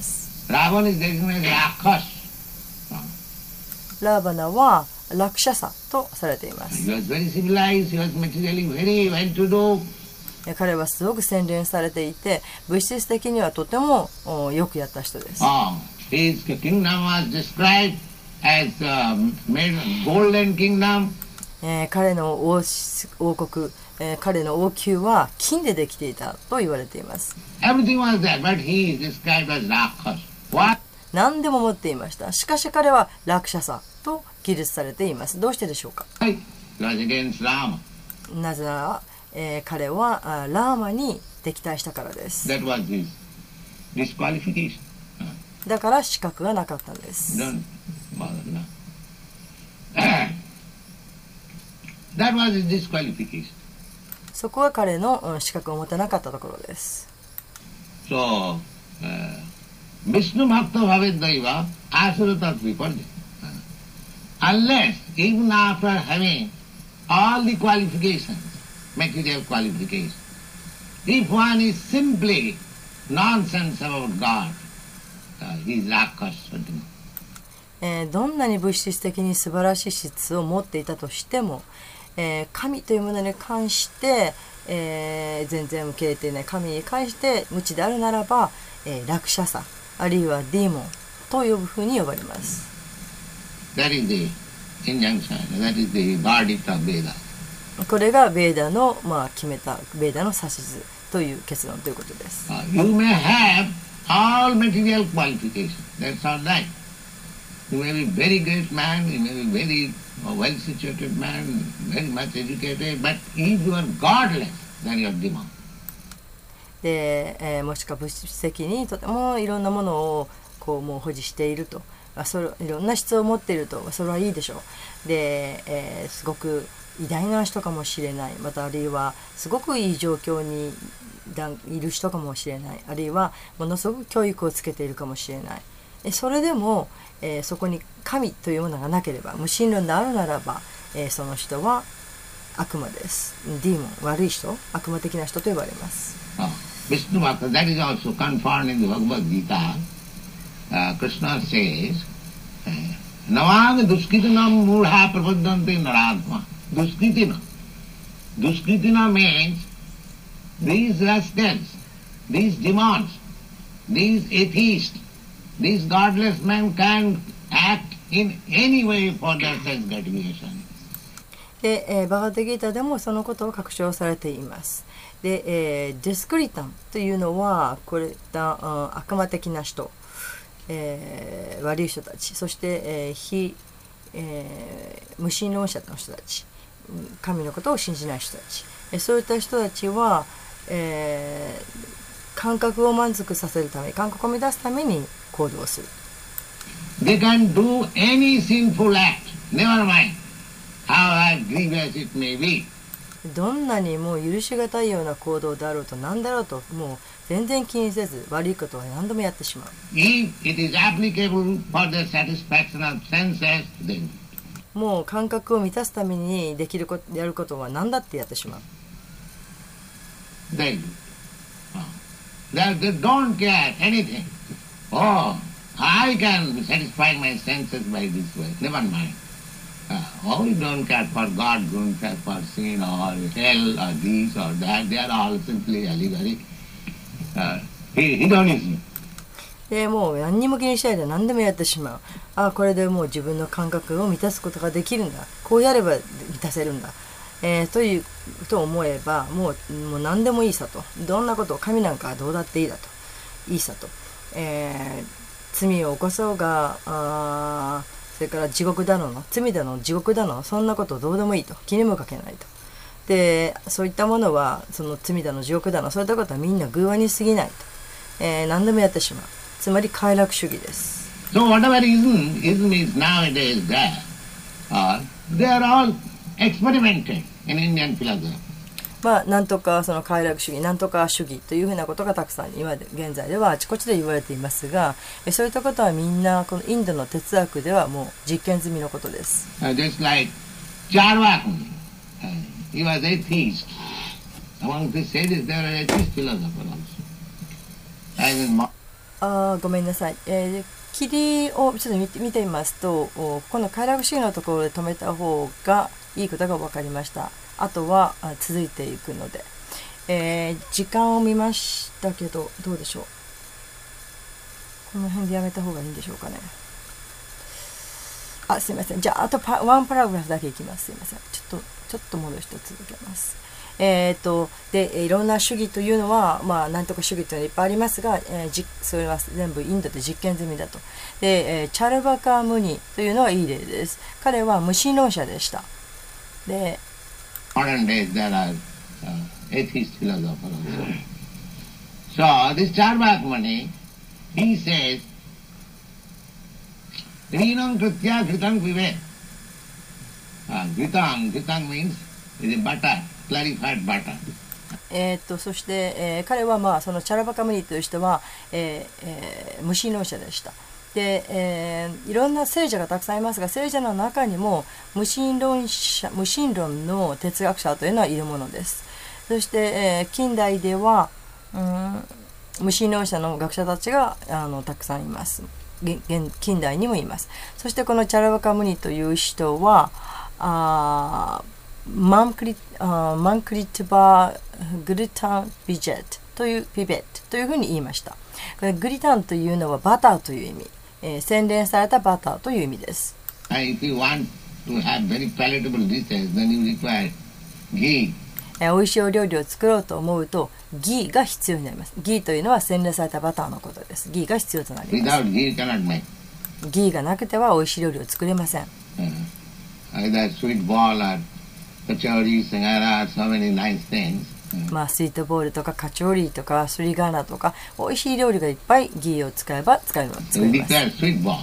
Ravan is designated as Rakhas. ラーバナはラクシャサとされています。 He was very civilized, he was materially very well to do. 彼はすごく洗練されていて、物質的にはとてもよくやった人です。 His kingdom was described as golden kingdom. 彼の王国、彼の王宮は金でできていたと言われています。 Everything was there, but he is described as Rakhas. What? 何でも持っていました。しかし彼はラクシャサと記述されています。どうしてでしょうか。 It was against Rama. なぜなら、彼はラーマに敵対したからです。 That was his disqualification. だから資格がなかったんです。 Don't bother now. That was his disqualification. そこは彼の資格を持たなかったところです。 So, Vishnu Bhakta Bhavedaiva Asuratat Viparya. Unless, even after having all the qualifications, material qualifications, if one is simply nonsense about God, he is Rakhas. どんなに物質的に素晴らしい質を持っていたとしても、神というものに関して、全然受け入れていない神に関して無知であるならば、ラクシャサあるいはディーモンと呼ぶふうに呼ばれます。 That is the injunction. That is the verdict of Veda. これがベーダの、決めたベーダの指図という結論ということです。 You may have all material qualifications. That's all right. You may be very great man, you may be very well-situated man, very much educated, but if you are godless, then you are demon. で、もしくは物質的にとてもいろんなものをこうもう保持していると、いろんな質を持っていると、それはいいでしょう。で、すごく偉大な人かもしれない、またあるいはすごくいい状況にいる人かもしれない、あるいはものすごく教育をつけているかもしれない。それでも、そこに神というものがなければ、無神論であるならば、その人は悪魔です。ディーモン、悪い人、悪魔的な人と呼ばれます。 Vishnu Bhakta, that is also confirmed in the Bhagavad Gita. Krishna says, Navang Duskritinam Murha Prapadanti Naradma. Duskritina. Duskritina means these rascals, these demons, these atheists, these godless men can act in any way for their sense gratification. で、バガッドギータでもそのことを確証されています。で、ディスクリタンというのはこれだ悪魔的な人、悪い人たち、そして、無神論者の人たち、神のことを信じない人たち、そういった人たちは、感覚を満足させるため、感覚を乱すために行動する。 They can do any sinful act, never mind how grievous it may be. どんなにもう許しがたいような行動であろうと何だろうと、もう全然気にせず悪いことは何度もやってしまう。 If it is applicable for the satisfaction of senses, then もう感覚を満たすためにできること、やることは何だってやってしまう。 they don't care anything. Oh, I can satisfy my senses by this way. Never mind. Oh, you don't care for God, don't care for sin or hell or this or that. They are all simply allegory. Hedonism. でもう何にも気にしないで何でもやってしまう。あ、これでもう自分の感覚を満たすことができるんだ、こうやれば満たせるんだ、と思えばもう何でもいいさと、どんなことを神なんかどうだっていいだと、いいさと、罪を起こそうがそれから地獄だの罪だの地獄だの、そんなことどうでもいいと、気にもかけないと。でそういったものはその罪だの地獄だのそういったことはみんな偶話に過ぎないと、何でもやってしまう、つまり快楽主義です。 So whatever ism is nowadays there, they are all experimented in Indian philosophy. まあ、なんとかその快楽主義、なんとか主義というふうなことがたくさん今現在ではあちこちで言われていますが、そういったことはみんなこのインドの哲学ではもう実験済みのことです。 Just like Charvakuni, he was atheist. Among the sages there are atheist philosophers also. ごめんなさい。霧をちょっと見てみますと、この快楽主義のところで止めた方がいいことが分かりました。あとは続いていくので、時間を見ましたけどどうでしょう。この辺でやめた方がいいんでしょうかね。あ、すいません。じゃああとワンパラグラフだけいきます。すいません。ちょっと戻して続けます。でいろんな主義というのは、まあ、なんとか主義というのはいっぱいありますが、それは全部インドで実験済みだと。で、チャルバカ・ムニというのはいい例です。彼は無神論者でした。で、 modern days there are atheist philosophers also. So this Charvak Muni, he says, Rinam Kritya Kritam Vive. Kritam means is a butter, clarified butter. そして、彼は、まあ、そのチャラバカムニという人は、無神論者でした。で、いろんな聖者がたくさんいますが、聖者の中にも無神論の哲学者というのはいるものです。そして、近代では、無神論者の学者たちがたくさんいます。近代にもいます。そしてこのチャラバカムニという人はマンクリトバグルタンビジェットというふうに言いました。これグリタンというのはバターという意味、洗練されたバターという意味です。 If you want to have very palatable dishes, then you require ghee. 美味しいお料理を作ろうと思うとギーが必要になります。ギーというのは洗練されたバターのことです。ギーが必要となります。 Without ghee, you cannot make. ギーがなくては美味しい料理を作れません。 Either sweet ball or kachori, singara, so many nice things. まあスイートボールとかカチョーリーとかスリガーナとか美味しい料理がいっぱいギーを使えば作れます。 We declare sweet ball.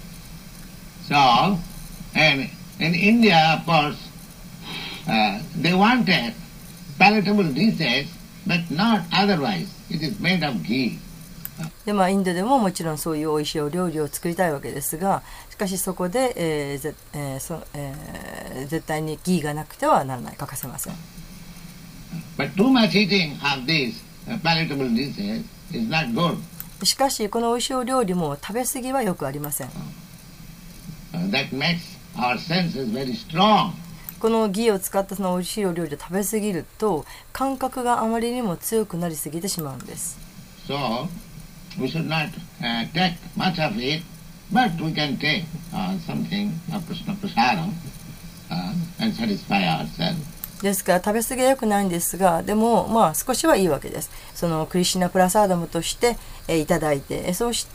So, and in India, of course, they wanted palatable dishes, but not otherwise. It is made of ghee. でまあ、インドでももちろんそういう美味しいお料理を作りたいわけですが、しかしそこで、絶対にギーがなくてはならない、欠かせません。 But too much eating of these palatable dishes is not good. しかしこの美味しいお料理も食べ過ぎはよくありません。 That makes our senses very strong. このギーを使ったその美味しいお料理を食べ過ぎると感覚があまりにも強くなりすぎてしまうんです。 So we should not take much of it, but we can take something of Krishna Prasadam and satisfy ourselves. ですから食べ過ぎは良くないんですが、でもまあ少しはいいわけです。そのクリシュナプラサーダムとして、いただいて、そうして、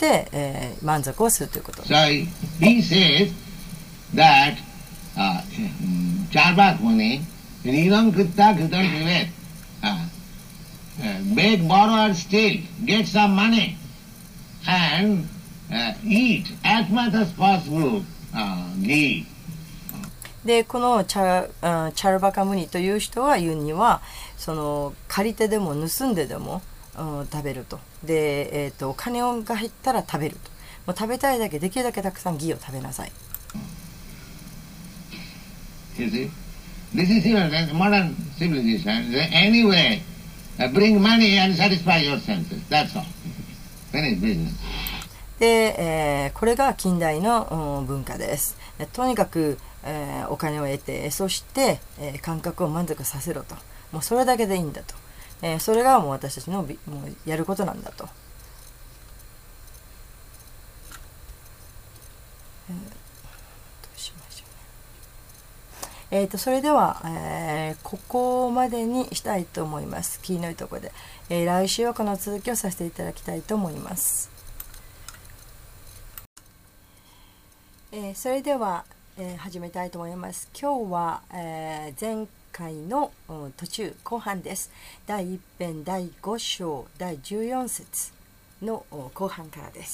満足をするということ。 So he says that Charvak Muni, Rinam Kritta Kritam Vivet, beg, borrow or steal, get some money and eat as much as possible ghee. でこのチャルバカムニという人が言うには、その借り手でも盗んででも、食べると。で、お金が入ったら食べると。もう食べたいだけできるだけたくさんギーを食べなさい。 You see, this is even modern civilization. Anyway, bring money and satisfy your senses. That's all. Finish business. で、これが近代の文化です。とにかくお金を得て、そして、感覚を満足させろと。もうそれだけでいいんだと。それがもう私たちのもうやることなんだと。 それでは、ここまでにしたいと思います。キーのいいところで、来週はこの続きをさせていただきたいと思います。それでは、始めたいと思います。今日は、前回の途中後半です。第1編第5章第14節の後半からです。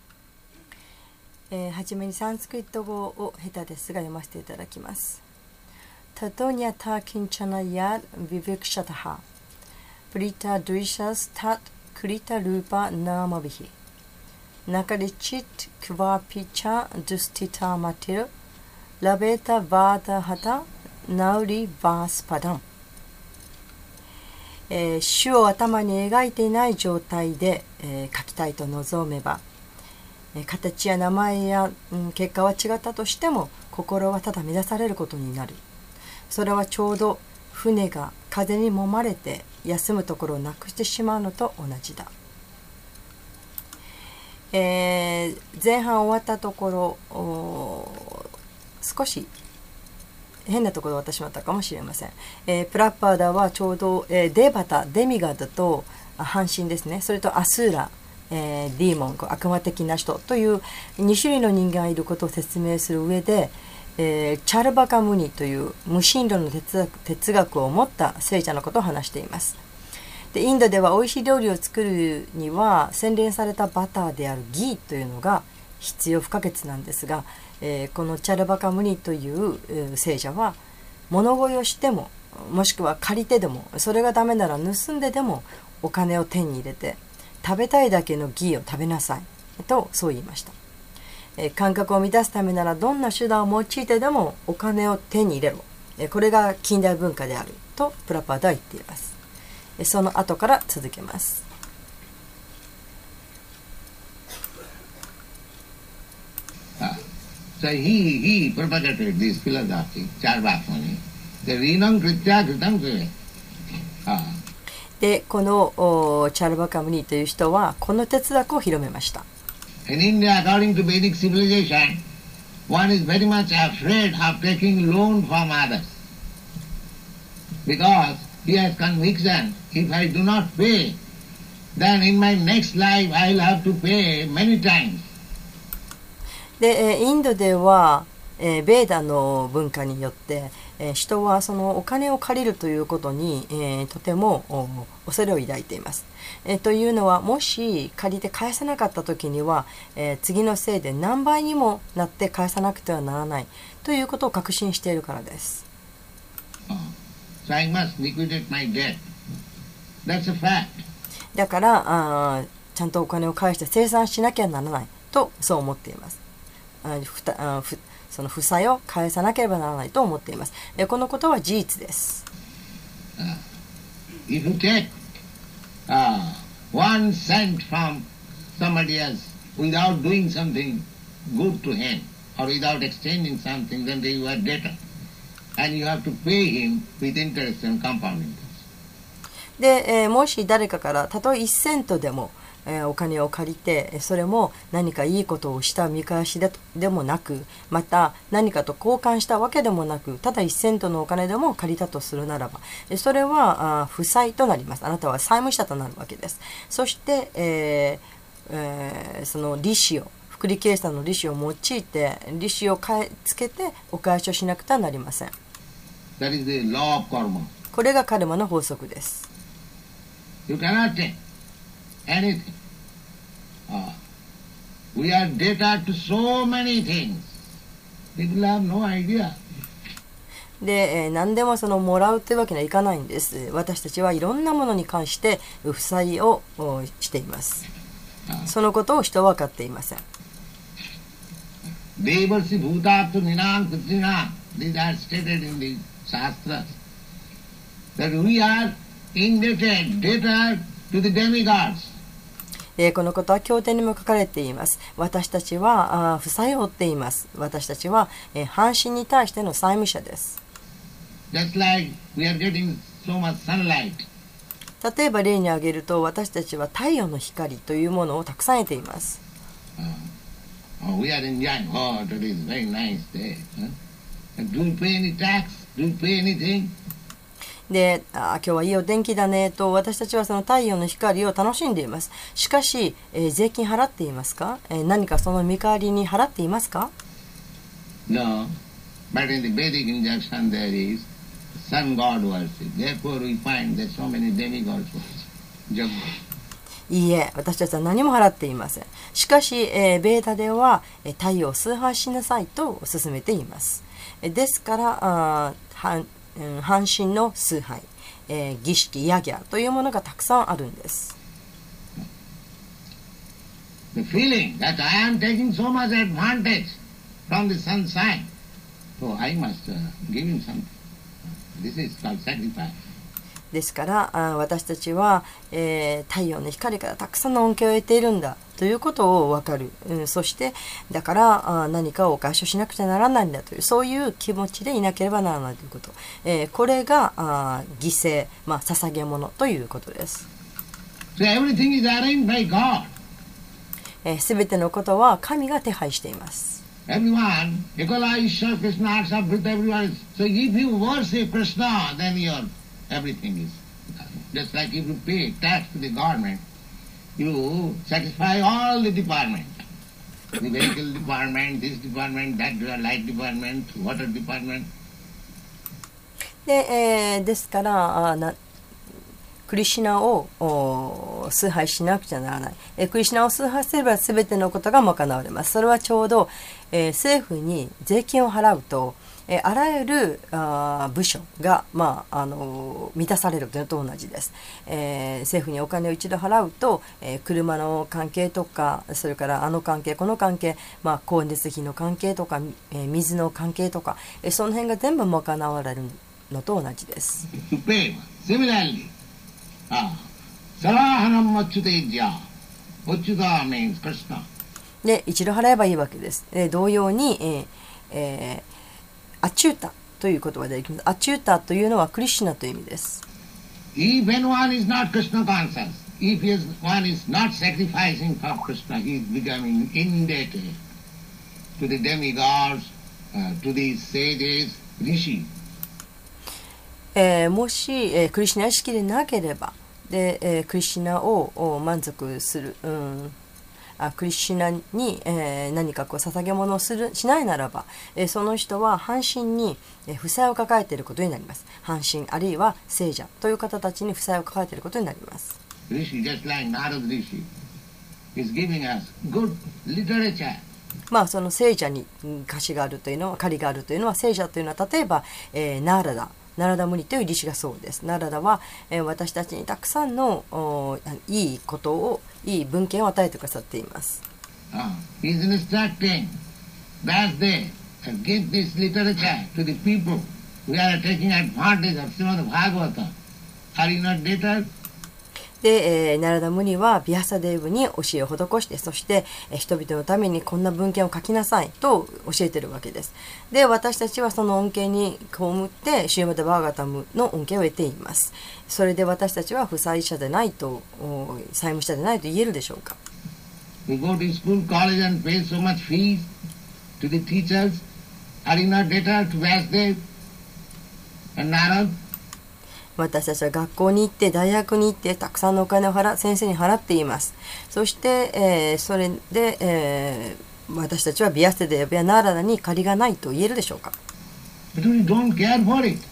はじめにサンスクリット語を下手ですが読ませていただきます。タトニャタキンチャナヤビヴィクシャタハプリタドゥシャスタクリタルーパナーマビヒナカリチックワピチャドゥスティタマティルラベタバータハタナウリバースパダン、主を頭に描いていない状態で、書きたいと望めば、形や名前や、結果は違ったとしても心はただ乱されることになる。それはちょうど船が風に揉まれて休むところをなくしてしまうのと同じだ。前半終わったところ少し変なところを渡しまったかもしれません。プラッパーダはちょうど、デバタ、デミガードと半身ですね。それとアスーラ、ディーモン、悪魔的な人という2種類の人間がいることを説明する上で、チャルバカムニという無神論の哲学を持った聖者のことを話しています。でインドでは美味しい料理を作るには洗練されたバターであるギーというのが必要不可欠なんですが、このチャルバカムニという聖者は物乞いをしてももしくは借りてでもそれがダメなら盗んででもお金を手に入れて食べたいだけのギーを食べなさいとそう言いました。感覚を満たすためならどんな手段を用いてでもお金を手に入れろ。これが近代文化であるとプラパーダは言っています。その後から続けます。 So he propagated this philosophy, Charvakmuni. The Vinam Kritya Kritam Kriya. で、このチャルバカムニという人はこの哲学を広めました。 In India, according to Vedic civilization, one is very much afraid of taking loan from others. Because he has conviction, if I do not pay, then in my next life I will have to pay many times. で、インドでは、ベーダの文化によって、人はそのお金を借りるということに、とても恐れを抱いています。というのはもし借りて返せなかった時には、次のせいで何倍にもなって返さなくてはならないということを確信しているからです。 So I must liquidate my debt. That's a fact. だからちゃんとお金を返して清算しなきゃならないとそう思っています。その負債を返さなければならないと思っています。このことは事実です。 If you take 1 cent from somebody else without doing something good to him or without exchanging something, then you are debtor, and you have to pay him with interest and compound interest. で、もし誰かからたとえ1セントでもお金を借りてそれも何かいいことをした見返しでもなくまた何かと交換したわけでもなくただ1セントのお金でも借りたとするならばそれは負債となります。あなたは債務者となるわけです。そして、その利子を複利計算の利子を用いて利子をつけてお返しをしなくてはなりません。 That is the law of karma. これがカルマの法則です。 You cannot take anything. We are debtor to so many things. People have no idea. で、何でもそのもらうというわけにはいかないんです。私たちはいろんなものに関して負債をしています。そのことを人は分かっていません。 Devarsi bhutatu ninam kritina. These are stated in the Shastras. That we are indebted, debtor to the demigods. このことは経典にも書かれています。私たちは負債を負っています。私たちは半身に対しての債務者です。 Just like we are getting so much sunlight. 例えば例に挙げると私たちは太陽の光というものをたくさん得ています。 We are enjoying. Oh, today is a very nice day. Do you pay any tax? Do you pay anything? で、今日はいいお天気だねと私たちはその太陽の光を楽しんでいます。しかし、税金払っていますか？何かその見返わりに払っていますか？ No. But in the Vedic injunction there is sun god worship. Therefore we find that so many demigods worship. いいえ、私たちは何も払っていません。しかし、ベーダでは太陽を崇拝しなさいと勧めています。ですから半身の崇拝、儀式、ヤギャというものがたくさんあるんです。 The feeling that I am taking so much advantage from the sunshine, so I must give him something. This is called sacrifice. ですから私たちは、太陽の光からたくさんの恩恵を得ているんだということを分かる、そしてだから何かを回収しなくちゃならないんだというそういう気持ちでいなければならないということ、これが犠牲、捧げ物ということです。 So everything is arranged by God. すべてのことは神が手配しています。 Everyone, Ekala Ishwar Krishna accept with everyone. So if you worship Krishna, then everything is just like if you pay tax to the government, you satisfy all the department, the vehicle department, this department, that light department, water department. ですからクリシュナを崇拝しなくちゃならない。クリシュナを崇拝すれば全てのことが賄われます。それはちょうど、政府に税金を払うと、あらゆる部署が、満たされるというのと同じです。政府にお金を一度払うと、車の関係とか、それからあの関係、この関係、光熱費の関係とか、水の関係とか、その辺が全部賄われるのと同じです。 Similarly, Sarahanam Achyutejya. Achyuta means Krishna. で、一度払えばいいわけです。同様に、アチュータという言葉でできます。アチュータというのはクリシュナという意味です。 If anyone is not Krishna conscious, if one is not sacrificing for Krishna, he is becoming indebted to the demigods, to the sages, rishi. もし、クリシュナ意識でなければ、で、クリシュナを満足する、クリシュナに、何か捧げ物をしないならば、その人は半身に、負債を抱えていることになります。半身あるいは聖者という方たちに負債を抱えていることになります。 Just like Narada Rishi is giving us good literature. その聖者に貸しがあるというのは、借りがあるというのは、聖者というのは例えば、ナラダムニというリシがそうです。ナラダは、私たちにたくさんのいいことを、いい文献を与えてくださっています。 He is instructing that they give this literature to the people who are taking advantage of Srimad Bhagavata. Are you not debtors? で、ナラダムニはビアサデーブに教えを施して、そして、人々のためにこんな文献を書きなさいと教えているわけです。で、私たちはその恩恵に被ってシューマダ・バーガタムの恩恵を得ています。それで私たちは負債者でないと、債務者でないと言えるでしょうか。 We go to school, college and pay so much fees to the teachers. Are you not debtor to Vasudev and Narad? 私たちは学校に行って大学に行ってたくさんのお金を先生に払っています。そして、それで、私たちはビアステデやナーラダに借りがないと言えるでしょうか。 But we don't care for it.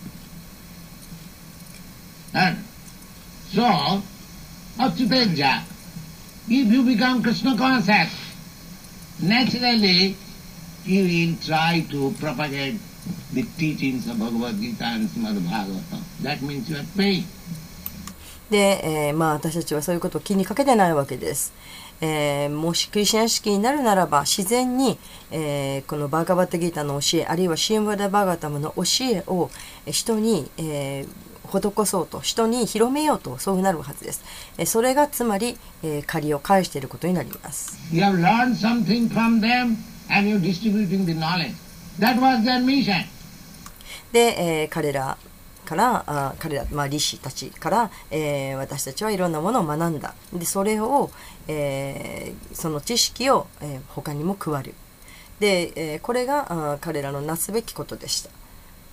And so, Achyuteja, if you become Krishna conscious, naturally you will try to propagate the teachings of Bhagavad Gita and Srimad Bhagavatam. That means you are paying. で、私たちはそういうことを気にかけてないわけです。もしクリシュナ式になるならば自然に、このバーガバッタギータの教えあるいはシームバダ・バーガタムの教えを人に、施そうと人に広めようとそういうなるはずです。それがつまり、借りを返していることになります。 You have learned something from them and you're distributing the knowledge. That was their mission. で、彼ら、リシたちから、私たちはいろんなものを学んだ。で、それを、その知識を、他にも配る。 で、これが彼らのなすべきことでした。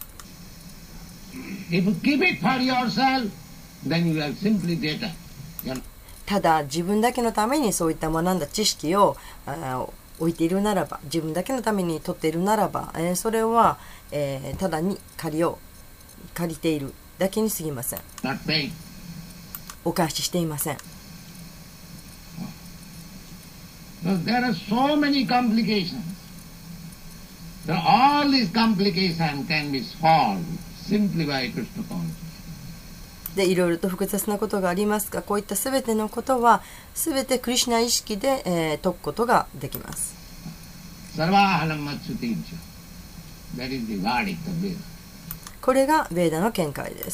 If you keep it for yourself, then you are simply data. ただ自分だけのためにそういった学んだ知識を置いているならば、自分だけのために取っているならば、それは、ただに借りているだけに過ぎません。お返ししていません。 There are so many complications. All these complications can be solved simply by Krishna consciousness. でいろいろと複雑なことがありますが、こういったすべてのことはすべてクリシュナ意識で、解くことができます。これがベーダの見解です。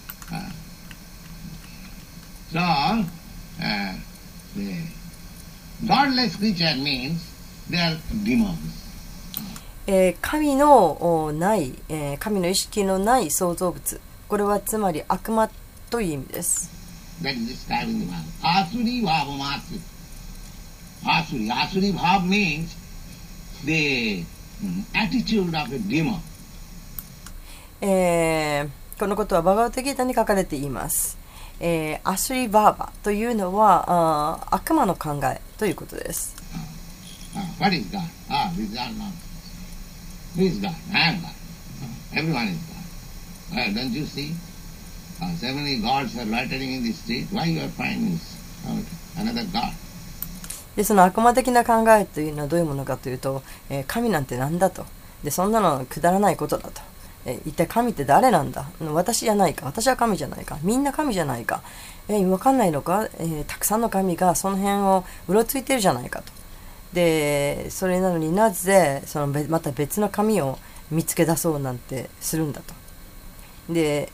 Godless creature means they are demons. 神のない、神の意識のない創造物、これはつまり悪魔という意味です。 Asuri bhav means the attitude of a demon. このことはバガバットギータに書かれています。アスリバーバというのは悪魔の考えということです。 What is God? This is not. Who is God? I am God. Everyone is God. Don't you see? So many gods are loitering in the street. Why you are finding another God? でその悪魔的な考えというのはどういうものかというと、神なんてなんだと。でそんなのくだらないことだと。一体神って誰なんだ、私じゃないか、私は神じゃないか、みんな神じゃないか、分かんないのか、たくさんの神がその辺をうろついてるじゃないかと。でそれなのになぜまた別の神を見つけ出そうなんてするんだと。で、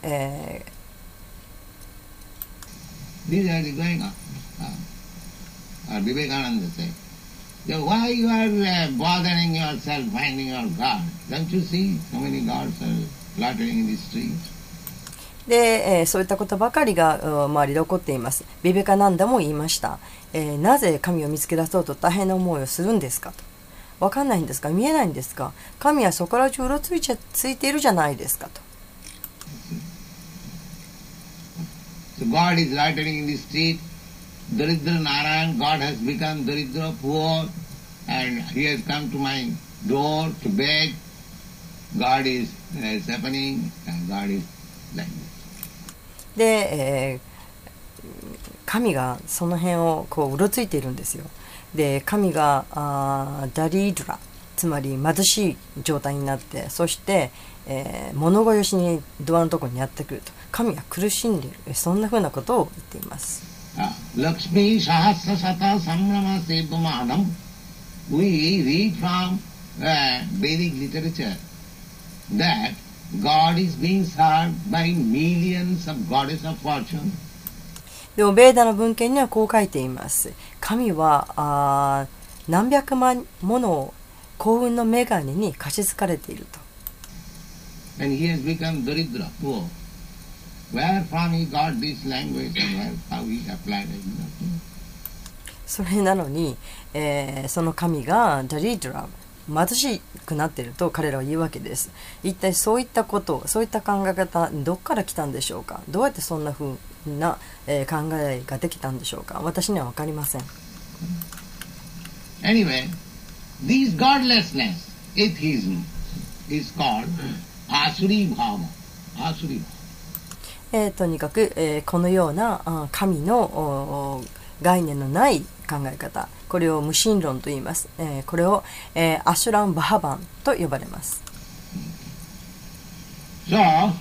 These are going on. Vivekananda said, why you are bothering yourself finding your God? Don't you see so many gods are fluttering in the streets? で、そういったことばかりが周りで起こっています。ビベカナンダも言いました。なぜ神を見つけ出そうと大変な思いをするんですかと。わかんないんですか、見えないんですか、神はそこら中うろついているじゃないですかと。 So God is loitering in the street. Daridra Narayan, God has become Daridra poor, and he has come to my door to beg. God is happening, and God is like this. で、神がその辺をこううろついているんですよ。で神がダリードラ、つまり貧しい状態になって、そして、物乞いしにドアのところにやってくると。神は苦しんでいる、そんなふうなことを言っています。 Lakshmi Sahasra Sata Samrama Sevamanam. We read from Vedic literature that God is being served by millions of goddess of fortune. でもベーダの文献にはこう書いています。神は何百万もの幸運の女神に貸し付かれていると。 And he has become Daridra, poor. Where from he got this language and how he applied it? それなのに、その神がダリドラ、貧しくなっていると彼らは言うわけです。一体そういったこと、そういった考え方、どっから来たんでしょうか。どうやってそんな風な、考えができたんでしょうか。私には分かりません。 Anyway, this godlessness, atheism, is called Asuri Bhava. Asuri Bhava. とにかく、このような神の概念のない考え方、これを無神論と言います。これを、アシュラン・バハバンと呼ばれます。 So,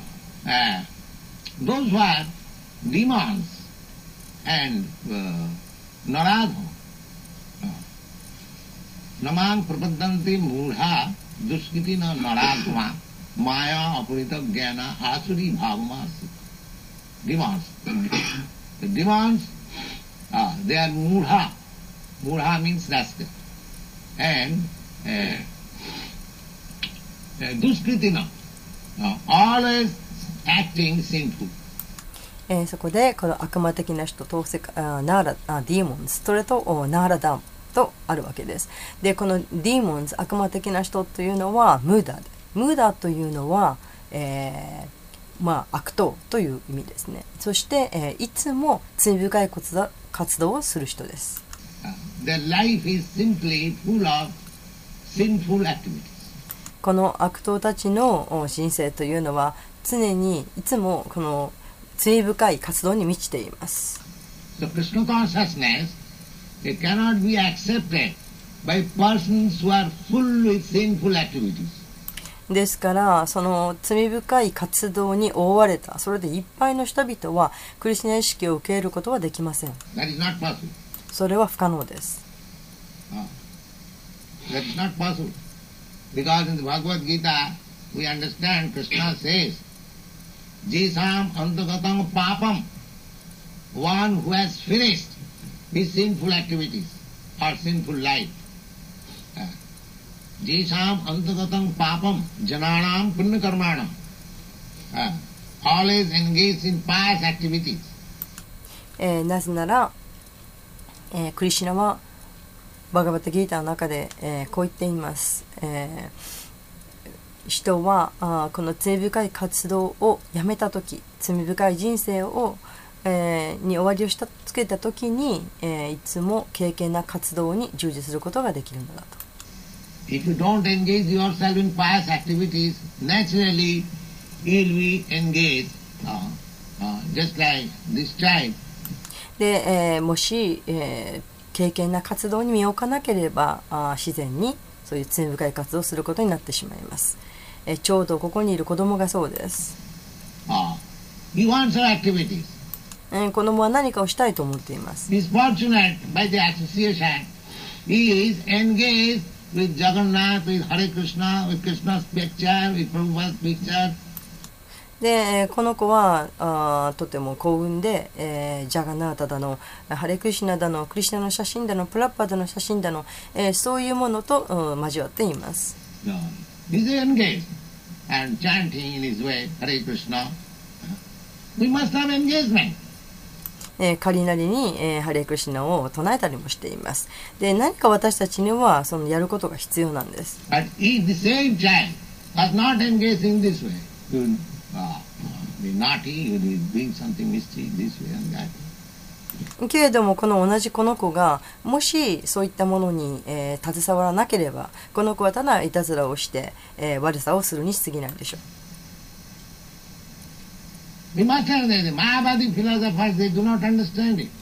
those were demons and Narada. Namang prapadanti mudha duskritina naradma maya apurita jnana asuri bhavamasi. Demons. The demons, they are mudha. Mudha means rascal. And duskritina, always acting sinful. そこでこの悪魔的な人とナーラディーモンス、それとナーラダとあるわけです。で、このディーモンズ、悪魔的な人というのはムーダで、ムーダというのは、悪党という意味ですね。そして、いつも罪深い活動をする人です。 Their life is simply full of sinful activities. この悪党たちの人生というのは常にいつもこの罪深い活動に満ちています。 So Krishna consciousness, it cannot be accepted by persons who are full with sinful activities. ですからその罪深い活動に覆われたそれでいっぱいの人々はクリシュナ意識を受け入れることはできません。 That is not possible. それは不可能です。 That is not possible. Because in the Bhagavad Gita, we understand Krishna says, Jisam antagatam papam, one who has finished his sinful activities or sinful life. Jisam antagatam papam, jananam punya karmanam. Always engaged in pious activities. なぜなら、クリシュナはバガバッタギータの中で、こう言っています。人はこの罪深い活動をやめたとき、罪深い人生を、に終わりをつけたときに、いつも敬虔な活動に従事することができるのだと。 If you don't engage yourself in pious activities, naturally you will be engaged, just like this child. で、もし、敬虔な活動に身を置かなければ自然にそういう罪深い活動をすることになってしまいます。ちょうどここにいる子供がそうです。 He wants her activities. 子供は何かをしたいと思っています。 He is fortunate by the association. He is engaged with Jagannath, with Hare Krishna, with Krishna's picture, with Prabhupada's picture. で、この子はとても幸運で、ジャガナータだの、ハレクリシュナだの、クリシュナの写真だの、プラッパダの写真だの、そういうものと、交わっています。 He is engaged and chanting in his way, Hare Krishna. We must have engagement. 仮なりに、ハレクリシュナを唱えたりもしています。で、何か私たちにはそのやることが必要なんです。 But if the same child was not engaged in this way, he would be naughty, he would be doing something mischief this way and that. けれどもこの同じこの子がもしそういったものに、携わらなければこの子はただいたずらをして、悪さをするに過ぎないでしょう。 We must understand the Mayavadi philosophers, they do not understand it.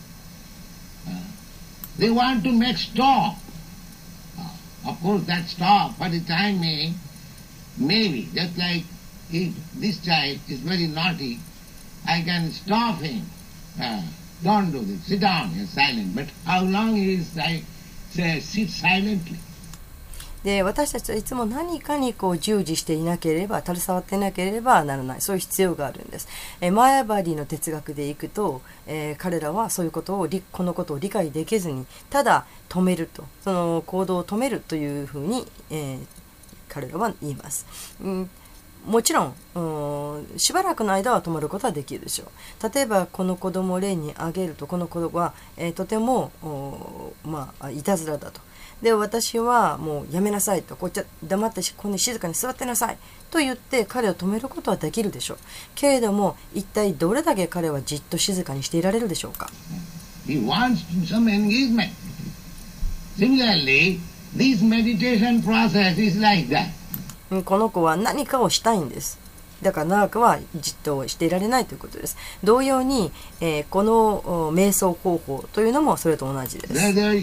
They want to make stop. Of course, that stop for the time being, maybe, just like if this child is very naughty, I can stop him. Don't do this. Sit down, you're silent. But how long he is like, say, sit silently? で私たちはいつも何かにこう従事していなければ携わっていなければならないそういう必要があるんです。マヤバディの哲学でいくと、彼らはそういうことをこのことを理解できずにただ止めるとその行動を止めるというふうに、彼らは言います。もちろん、しばらくの間は止まることはできるでしょう。例えばこの子供を例に挙げるとこの子は、とてもいたずらだと。で私はもうやめなさいとこっちは黙ってここに静かに座ってなさいと言って彼を止めることはできるでしょう。けれども一体どれだけ彼はじっと静かにしていられるでしょうか。 He wants some engagement. Similarly, this meditation process is like that. この子は何かをしたいんです。だから長くはじっとしていられないということです。同様に、この瞑想方法というのもそれと同じです。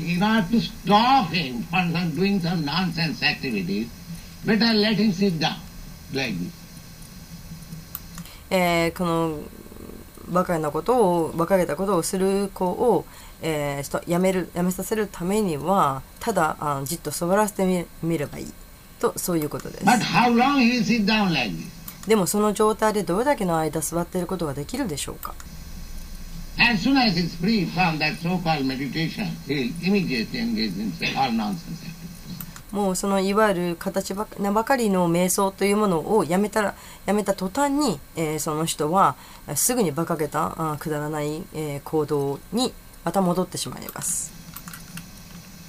この馬鹿げたことをする子を、やめさせるためにはただじっと座らせてみればいいとそういうことです。でもその状態でどれだけの間座っていることができるでしょうか。もうそのいわゆる形ばかりの瞑想というものをやめた途端に、その人はすぐに馬鹿げたくだらない、行動にまた戻ってしまいます。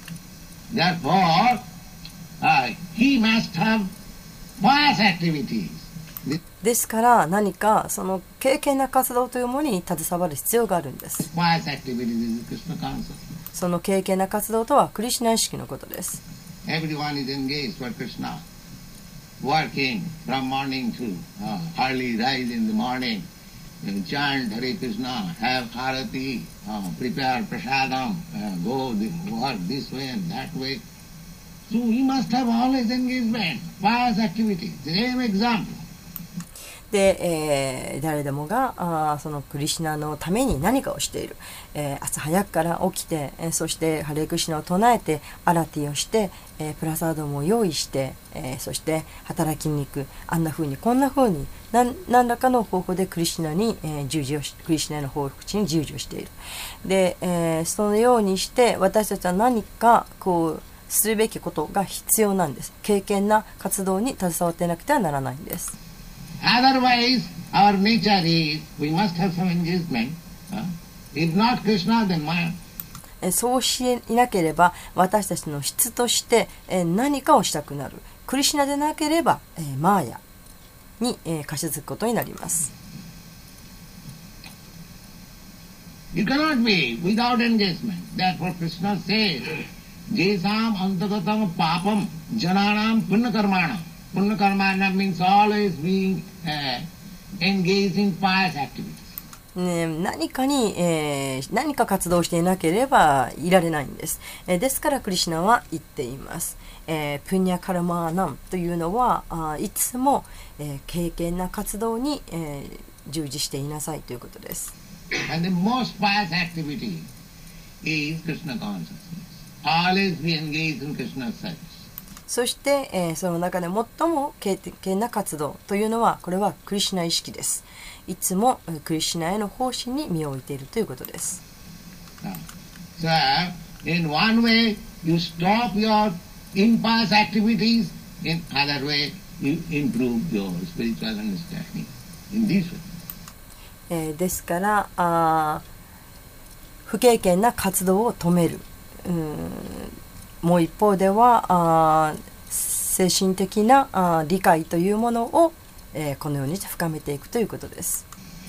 Therefore, he must have pious activities. ですから何かその敬虔な活動というものに携わる必要があるんです。 Pious activities is Krishna consciousness. その敬虔な活動とはクリシュナ意識のことです。 Everyone is engaged for Krishna, working from morning to early rise in the morning, chant Hare Krishna, have Harati, prepare prasadam, go work this way and that way. So we must have always engagement, pious activities. The same example. で、誰でもがそのクリシュナのために何かをしている、朝早くから起きて、そしてハレクリシュナを唱えてアラティをして、プラサードも用意して、そして働きに行く、あんな風にこんな風に何らかの方法でクリシュナに、クリシュナの報復地に従事をしている。で、そのようにして私たちは何かこうするべきことが必要なんです。敬虔な活動に携わっていなくてはならないんです。 Otherwise, our nature is, we must have some engagement. If not Krishna, then Maya. そうしなければ私たちの質として何かをしたくなる。クリシュナでなければマーヤに貸し付くことになります。 You cannot be without engagement. Therefore Krishna says, Jesam antagatam papam jananam punnakarmanam. Punnakarmana means always being engaged in pious activities. 何か活動していなければいられないんです。ですからクリシュナは言っています。プニャカラマーナムというのはいつも、敬虔な活動に、従事していなさいということです。 And the most pious activity is Krishna consciousness. Always be engaged in Krishna's service. そして、その中で最も敬虔な活動というのはこれはクリシュナ意識です。いつもクリシュナへの奉仕に身を置いているということです。 So, in one way, you stop your impious activities. In other way, you improve your spiritual understanding. In this way. ですから不敬虔な活動を止める。もう一方では精神的な理解というものを、このようにして深めていくということです。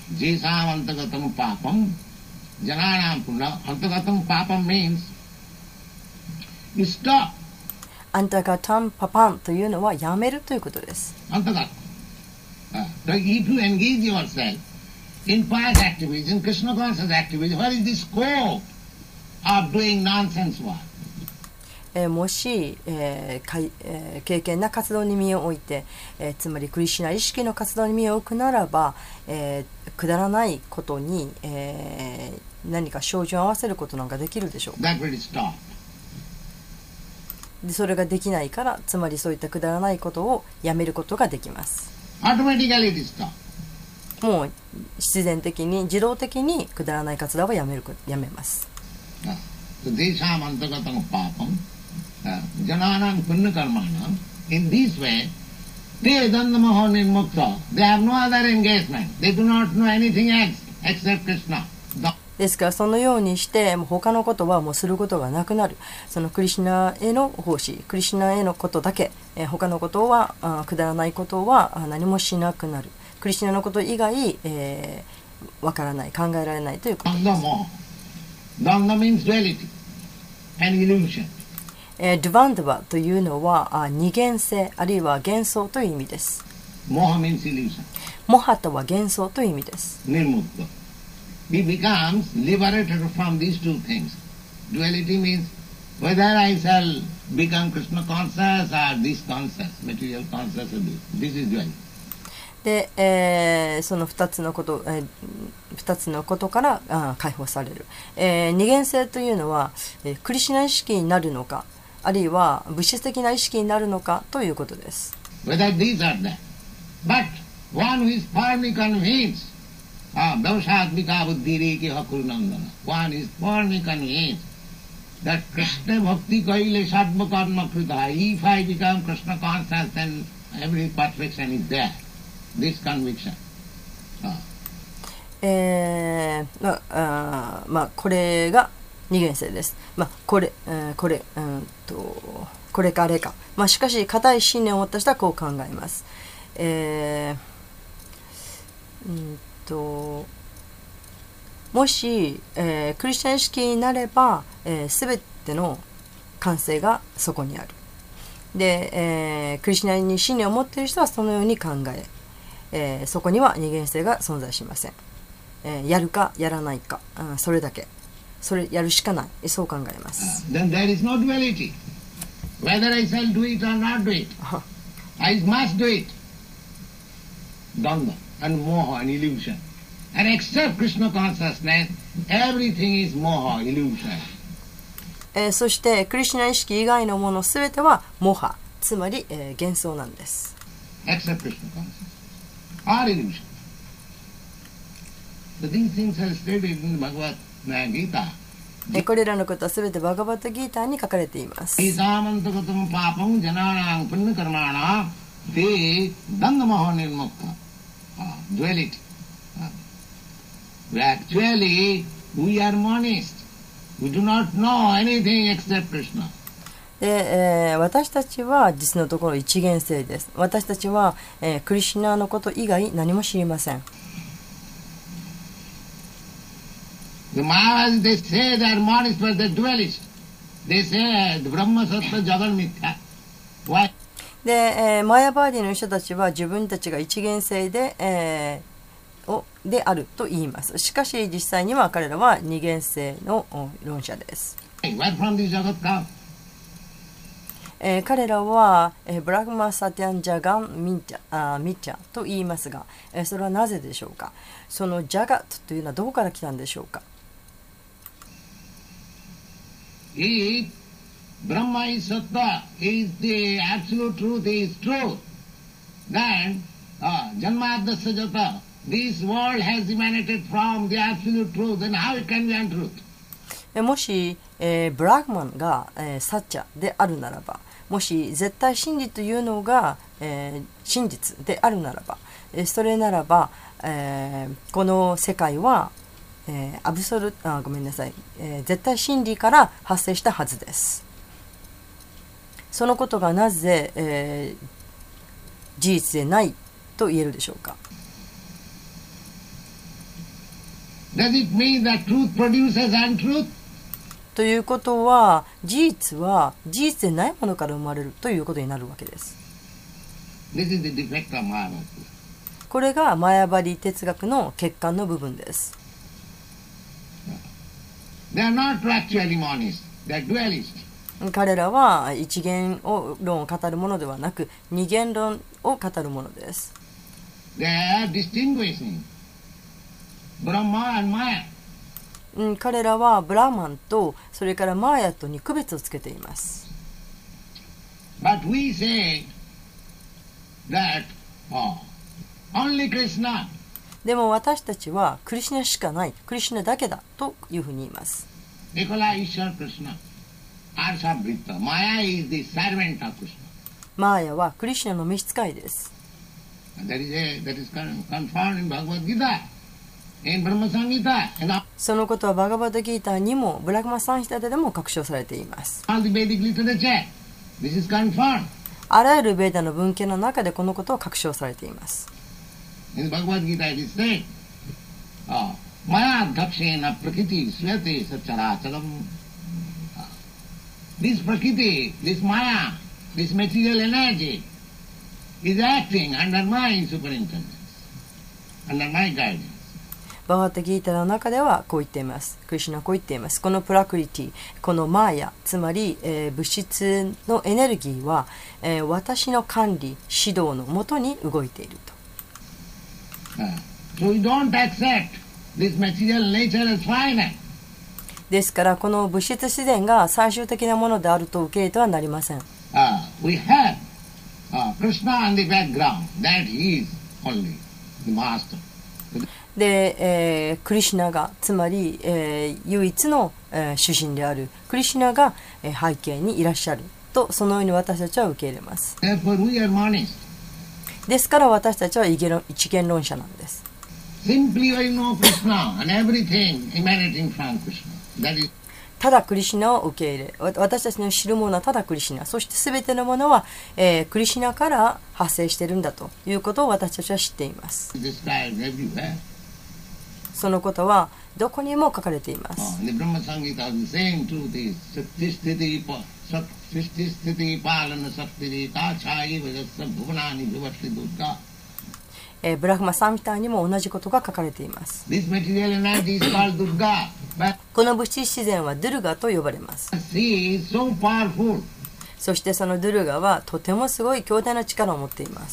アンタガタンパパンというのはやめるということです。 アンタガタン。If you engage yourself in pious activities, in Krishna conscious activities, what is the scope of doing nonsense work? もし、敬虔な活動に身を置いて、つまりクリシュナ意識の活動に身を置くならば、くだらないことに、何か照準を合わせることなんかできるでしょうか。でそれができないから、つまりそういったくだらないことをやめることができます。もう自然的に自動的にくだらない活動はやめます。 Jananam punnakarmanam. In this way, they dandamaho nirmukta. They have no other engagement. They do not know anything else except Krishna. ですからそのようにして他のことはもうすることがなくなる。そのクリシュナへの奉仕、クリシュナへのことだけ、他のことはくだらないことは何もしなくなる。クリシュナのこと以外、わからない、考えられないということです。 Danda means duality and illusion. ドゥバンダバというのは二元性あるいは幻想という意味です。 モハ means illusion. モハとは幻想という意味です。 Nirmukta. He becomes liberated from these two things. Duality means whether I shall become Krishna conscious or this conscious, material conscious or this. This is duality. で、その2つのことから解放される。二元性というのは、クリシュナ意識になるのか、あるいは物質的な意識になるのかということです。 Whether these are that. But one who is firmly convinced, Daushatmika Buddhiriki Hakurunandana, one is firmly convinced that Krishna Bhakti Kaile Sadma Karma Krita, if I become Krishna conscious, then every perfection is there. This conviction. これが二元性です。これかあれか。しかし固い信念を持った人はこう考えます。もし、クリスチャン意識になれば、全ての完成がそこにある。で、クリスチャンに信念を持っている人はそのように考え、そこには二元性が存在しません。やるかやらないか、それだけ。それやるしかない。そう考えます。 Then there is no duality. Whether I shall do it or not do it, I must do it. Dhamma and moha and illusion. And except Krishna consciousness, everything is moha, illusion. そしてクリシュナ意識以外のものすべてはモハ、つまり、幻想なんです。 Except Krishna consciousness or illusion. So these things are stated in the Bhagavad Gita. これらのことはすべてバガバットギーターに書かれています。 Gītāmantakataṁ pāpaṁ janānaṁ puññakarmānaṁ te dandamaho nirmukta. Duality. Actually, we are monist. We do not know anything except Krishna. で、私たちは実のところ一元性です。私たちは、クリシュナのこと以外何も知りません。 The Mayavadis, they say they are monist, but they are dualist. They say the Brahma Sattva Jagan Mithya. Why? で、マヤバーディの人たちは自分たちが一元性で、であると言います。しかし実際には彼らは二元性の論者です。 Where from this Jagat come? 彼らは、ブラグマサティアンジャガンミチャと言いますが、それはなぜでしょうか。そのジャガットというのはどこから来たんでしょうか。 If Brahma is Sattva, is the absolute truth, is truth, then Janmadasya Jata, this world has emanated from the absolute truth, then how it can be untruth? もし、ブラグマンが、サッチャであるならば、もし絶対真理というのが、真実であるならば、それならば、この世界はアブソルごめんなさい、絶対真理から発生したはずです。そのことがなぜ、事実でないと言えるでしょうか。 Does it mean that truth produces untruth? ということは事実は事実でないものから生まれるということになるわけです。 This is the defect of Mayavadi. これがマヤバリ哲学の欠陥の部分です。 They are not actually monists, they are dualists. 彼らは一元論を語るものではなく二元論を語るものです。 They are distinguishing Brahma and Maya. 彼らはブラーマンとそれからマーヤとに区別をつけています。 But we say that only Krishna. でも私たちはクリシュナしかない、クリシュナだけだというふうに言います。 Ekala Ishwar Krishna. Arsabhrita. Maya is the servant of Krishna. マーヤはクリシュナの召使いです。 That is confirmed in Bhagavad Gita, in Brahma Samhita, そのことはバガバッドギーターにもブラグマサンヒタでも確証されています。 all the Vedic literature. This is confirmed. あらゆるベーダの文献の中でこのことを確証されています。 In Bhagavad Gita it is said, Maya dhapsena prakriti swete sacharacharam. This prakriti, this Maya, this material energy is acting under my superintendence, under my guidance. バガッドギーターの中ではこう言っています。クリシュナはこう言っています。このプラクリティ、このマーヤ、つまり、物質のエネルギーは、私の管理、指導のもとに動いていると。 So we don't accept this material nature as final. ですからこの物質自然が最終的なものであると受け入れてはなりません。 We have Krishna on the background, that he is only the master. で、クリシュナがつまり、唯一の、主人であるクリシュナが、背景にいらっしゃるとそのように私たちは受け入れます。 Therefore we are monist. ですから私たちは一元論者なんです。 Simply I know Krishna and everything emanating from Krishna. That is. ただクリシュナを受け入れ、私たちの知るものはただクリシュナ、そして全てのものは、クリシュナから発生しているんだということを私たちは知っています。そのことはどこにも書かれています。ブラフマサンヒタにも同じことが書かれています。この物質自然はドゥルガと呼ばれます。そしてそのドゥルガはとてもすごい強大な力を持っています。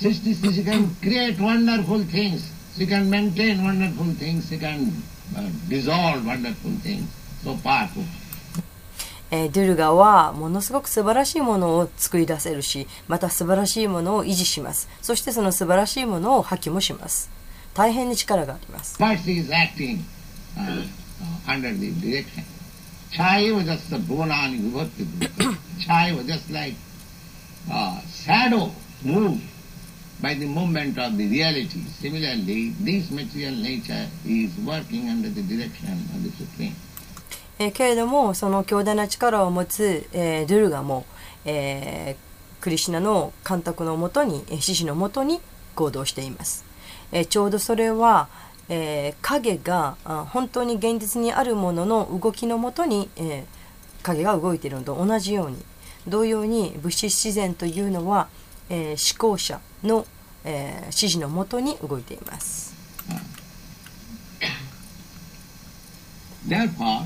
She can maintain wonderful things, she can dissolve wonderful things, so powerful. ドゥルガはものすごく素晴らしいものを作り出せるし、また素晴らしいものを維持します。そしてその素晴らしいものを破棄もします。大変に力があります。 First he is acting under the direction. Chai was just a Bhuvanani Vibhakti. Chai was just like shadow moved by the movement of the reality. Similarly, this material nature is working under the direction of the Supreme. けれどもその強大な力を持つ、ドゥルガも、クリシュナの監督のもとに、獅子のもとに行動しています。ちょうどそれは、影が本当に現実にあるものの動きのもとに、影が動いているのと同じように、同様に物質自然というのは、思考者の、指示のもとに動いています。 Therefore,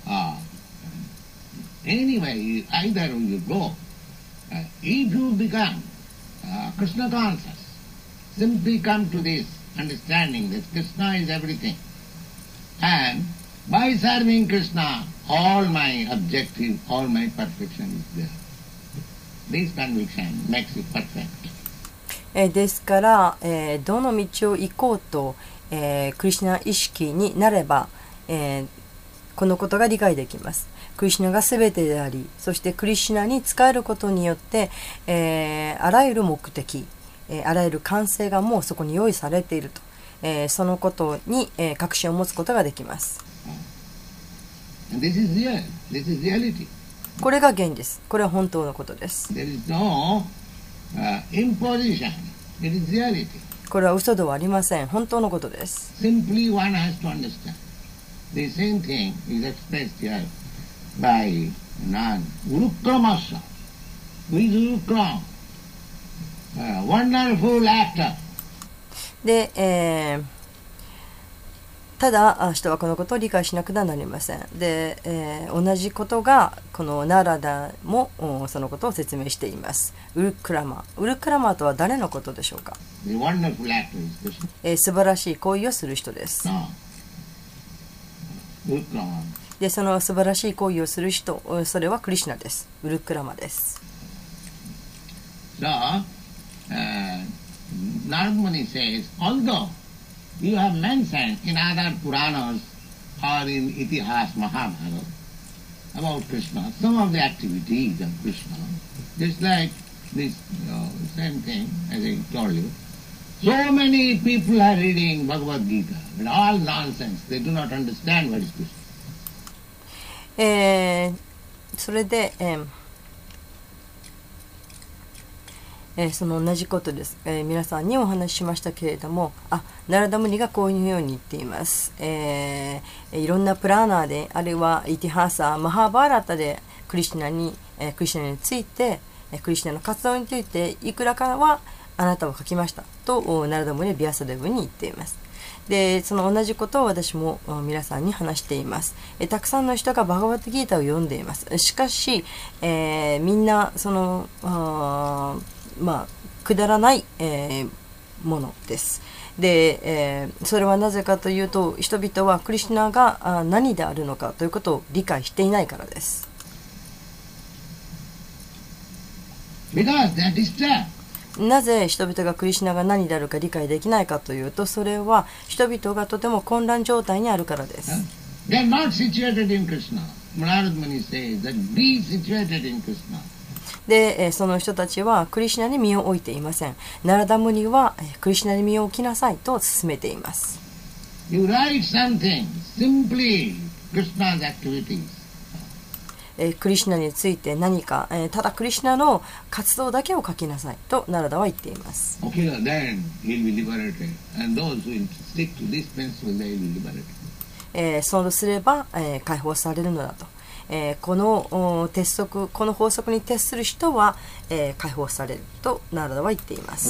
anyway, either you go, if you become Krishna conscious, simply come to this understanding that Krishna is everything, and by serving Krishna, all my objective, all my perfection is there. This conviction makes it perfect. ですから、どの道を行こうと、クリシュナ意識になれば、このことが理解できます。クリシュナが全てであり、そしてクリシュナに仕えることによって、あらゆる目的、あらゆる完成がもうそこに用意されていると、そのことに、確信を持つことができます。 This is real. This is reality. これが現実。これは本当のことです。 There is no imposition. It is reality. これは嘘ではありません。本当のことです。 Simply one has to understand. The same thing is expressed here by Urukramasya. Who is Urukram? Wonderful actor. で、ただ人はこのことを理解しなくてはなりません。で、同じことがこのナラダもそのことを説明しています。ウルクラマ。ウルクラマとは誰のことでしょうか。素晴らしい行為をする人です。で、その素晴らしい行為をする人、それはクリシュナです。ウルクラマです。 So, Narad Muni says, although you have mentioned in other Puranas or in Itihas Mahabharata about Krishna, some of the activities of Krishna, just like this same thing as I told you. So many people are reading Bhagavad Gita, but all nonsense. They do not understand what is Krishna. それで、その同じことです、皆さんにお話ししましたけれども、ナラダムニがこういうように言っています、いろんなプラーナーで、あるいはイティハーサー、マハーバーラタでクリシュナについて、クリシュナの活動についていくらかはあなたを書きましたとナラダムニはビアサデブに言っています。で、その同じことを私も皆さんに話しています。たくさんの人がバガバットギータを読んでいます。しかし、みんなそのくだらない、ものです。で、それはなぜかというと、人々はクリシュナが何であるのかということを理解していないからです。なぜ人々がクリシュナが何であるか理解できないかというと、それは人々がとても混乱状態にあるからです。で、その人たちはクリシュナに身を置いていません。ナラダムニはクリシュナに身を置きなさいと勧めています。 You write something, simply Krishna's activities. クリシュナについて何か、ただクリシュナの活動だけを書きなさいとナラダは言っています。そうすれば、解放されるのだと。この法則に徹する人は、解放されるとナラダは言っています。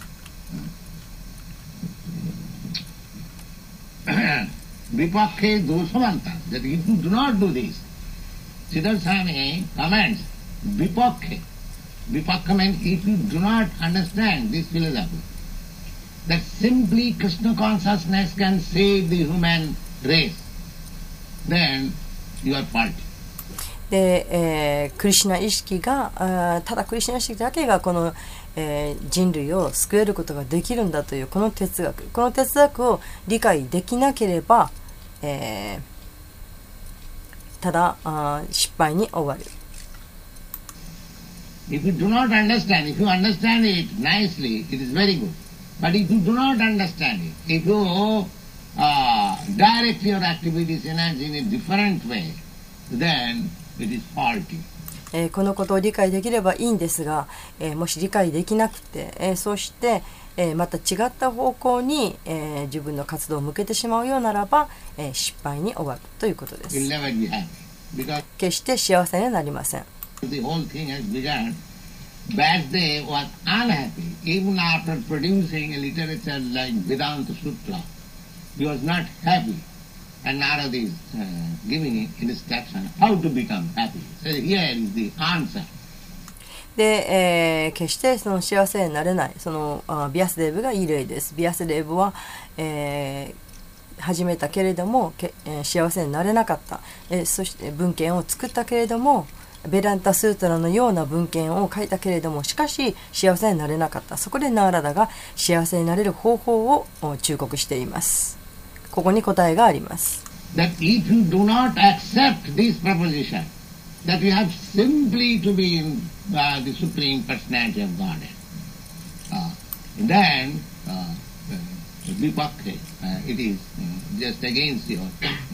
Vipakhe dosamanta, that if you do not do this, Siddhartha Swami comments, Vipakhe. Vipakha means if you do not understand this philosophy, that simply Krishna consciousness can save the human race, then you are faulty. で、クリシュナ意識がただクリシュナ意識だけがこの、人類を救えることができるんだというこの哲学を理解できなければ、ただ失敗に終わる。 If you do not understand, if you understand it nicely, it is very good. But if you do not understand it, if you direct your activities in a different way, then it is faulty. このことを理解できればいいんですが、もし理解できなくて、そして、また違った方向に、自分の活動を向けてしまうようならば、失敗に終わるということです。決して幸せになりません。 The whole thing has begun. Vasudev was unhappy even after producing a literature like Vedanta Sutra. He was not happy. And Narada is giving instruction how to become happy. So here is the answer. で、決してその幸せになれないそのビアスデーブがいい例です。ビアスデーブは、始めたけれども、幸せになれなかった、そして文献を作ったけれども、ベランタスートラのような文献を書いたけれども、しかし幸せになれなかった。そこでナーラダが幸せになれる方法を忠告しています。ここに答えがあります。 That if you do not accept this proposition, that you have simply to be in the Supreme Personality of Godhead, then Vipakhe, it is just against your.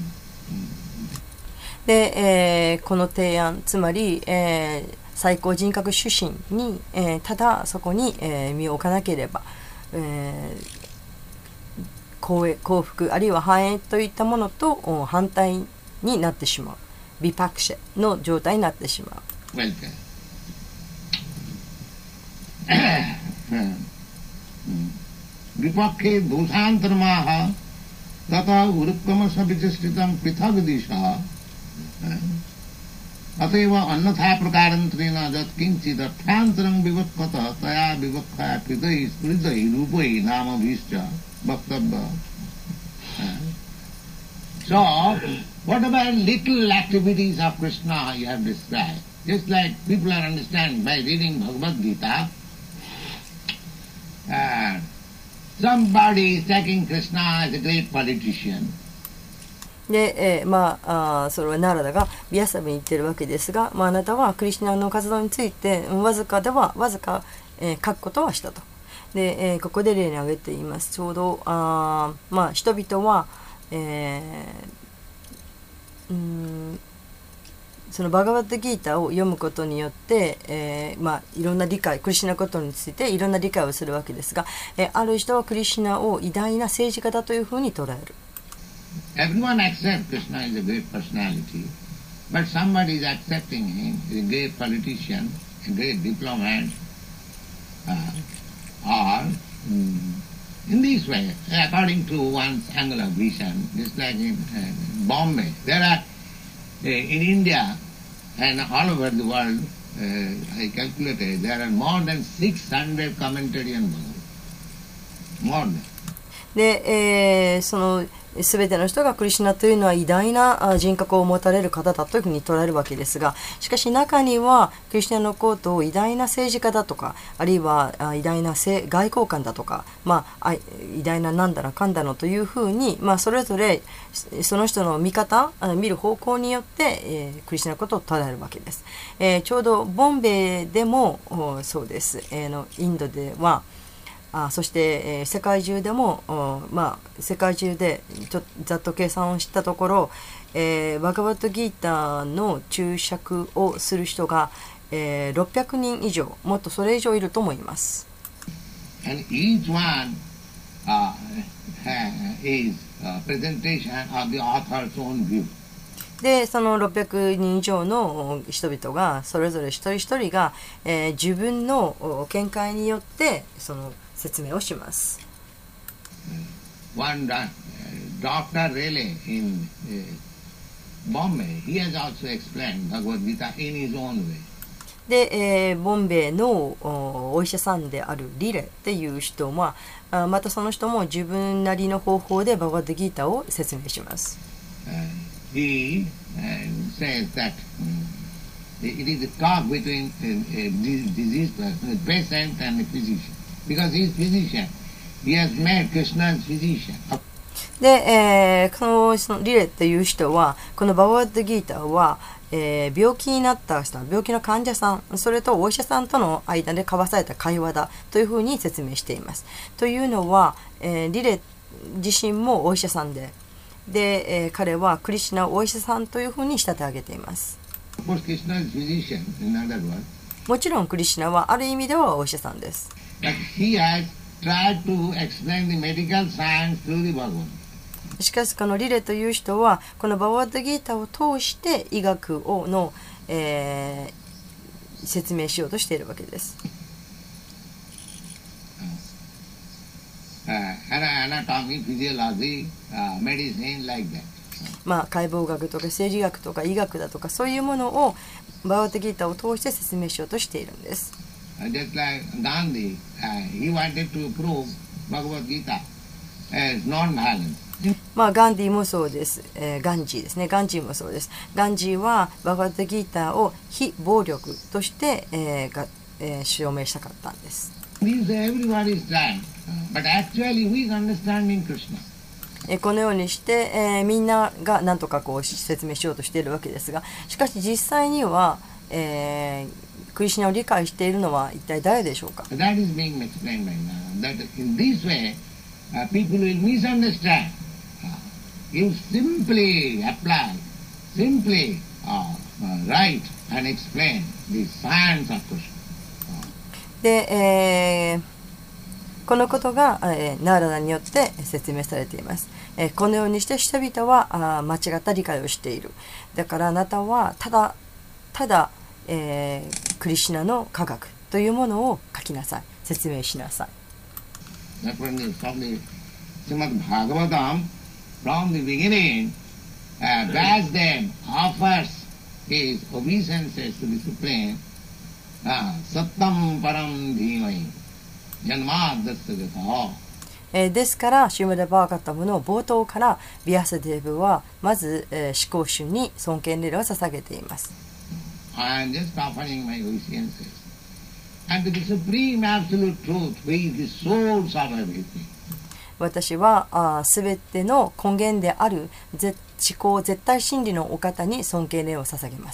で、この提案、つまり、最高人格主神に、ただそこに、身を置かなければ、幸福あるいは繁栄といったものと反対になってしまうビパクシェの状態になってしまう。 ビパケドーサンタルマハタタウルカマサビチスティタンピタグディシャअतएव अन्यथा प्रकारंत्रेण जत किंचित अर्थांतरं विवक्कतः तया विवक्खया कृतैः स्मृतैः रूपैः नामभिश्च वक्तव्य. So, whatever little activities of Krishna you have described, just like people are understand by reading Bhagavad Gita, somebody is taking Krishna as a great politician. で、それはナラダがビアサブに言ってるわけですが、あなたはクリシュナの活動についてわずか、書くことはしたと。で、ここで例に挙げています。ちょうど人々は、そのバガバッドギータを読むことによって、いろんな理解、クリシュナことについていろんな理解をするわけですが、ある人はクリシュナを偉大な政治家だというふうに捉える。 Everyone accepts Krishna is a great personality, but somebody is accepting him as a great politician, a great diplomat, or in this way, according to one's angle of vision, just like in Bombay, there are in India and all over the world, I calculated, there are more than 600 commentary on Bhagavad. More than. で、そのすべての人がクリシュナというのは偉大な人格を持たれる方だというふうに捉えるわけですが、しかし中にはクリシュナのことを偉大な政治家だとか、あるいは偉大な外交官だとか、偉大ななんだらかんだのというふうに、それぞれその人の見方、見る方向によって、クリシュナのことを捉えるわけです。ちょうどボンベイでもそうです。インドではそして、世界中でも、世界中でざっと計算をしたところ、バガバットギーターの注釈をする人が、600人以上、もっとそれ以上いると思います。 And each one is a presentation of the author's own view. で、その600人以上の人々が、それぞれ一人一人が、自分の見解によってその説明をします。 One Dr. Rayleigh in Bombay, he has also explained Bhagavad Gita in his own way. で、ボンベイのお医者さんであるリレっていう人は、またその人も自分なりの方法でバガバットギーターを説明します。 He says that it is a talk between a diseased person, a patient and a physician. Because he is physician, he has met Krishna's physician. で、そのリレっていう人は、このバガバットギーターは、病気になった人、病気の患者さん、それとお医者さんとの間で交わされた会話だというふうに説明しています。というのは、リレ自身もお医者さんで、彼はクリシュナをお医者さんというふうに仕立て上げています。もちろんクリシュナはある意味ではお医者さんです。しかしこのリレという人はこのバガバットギーターを通して医学の、説明しようとしているわけです。解剖学とか生理学とか医学だとかそういうものをバガバットギーターを通して説明しようとしているんです。 Just like Gandhi, he wanted to prove Bhagavad Gita as non-violence. ガンディもそうです。ガンジーですね。ガンジーもそうです。ガンジーはバガバットギーターを非暴力として、証明したかったんです。このようにして、みんなが何とか説明しようとしているわけですが、しかし実際には、クリシュナを理解しているのは一体誰でしょうか。 People will misunderstand. You simply apply, simply write and explain the science of Krishna. で、このことが、ナーラダによって説明されています。このようにして人々は間違った理解をしている。だからあなたはただ、クリシュナの科学というものを書きなさい。説明しなさい。 That one is from the Srimad Bhagavatam, from the beginning, Vyasdev offers his obeisances to the Supreme, Sattam Param Dhimai, Janmadasya Gata. ですから、シューマダ・バーガタムの冒頭からビアサデーブはまず、至高主に尊敬礼を捧げています。 I am just offering my obeisances. And the supreme absolute truth, which is the source of everything. 私はすべての根源である至高絶対真理のお方に尊敬礼を捧げます。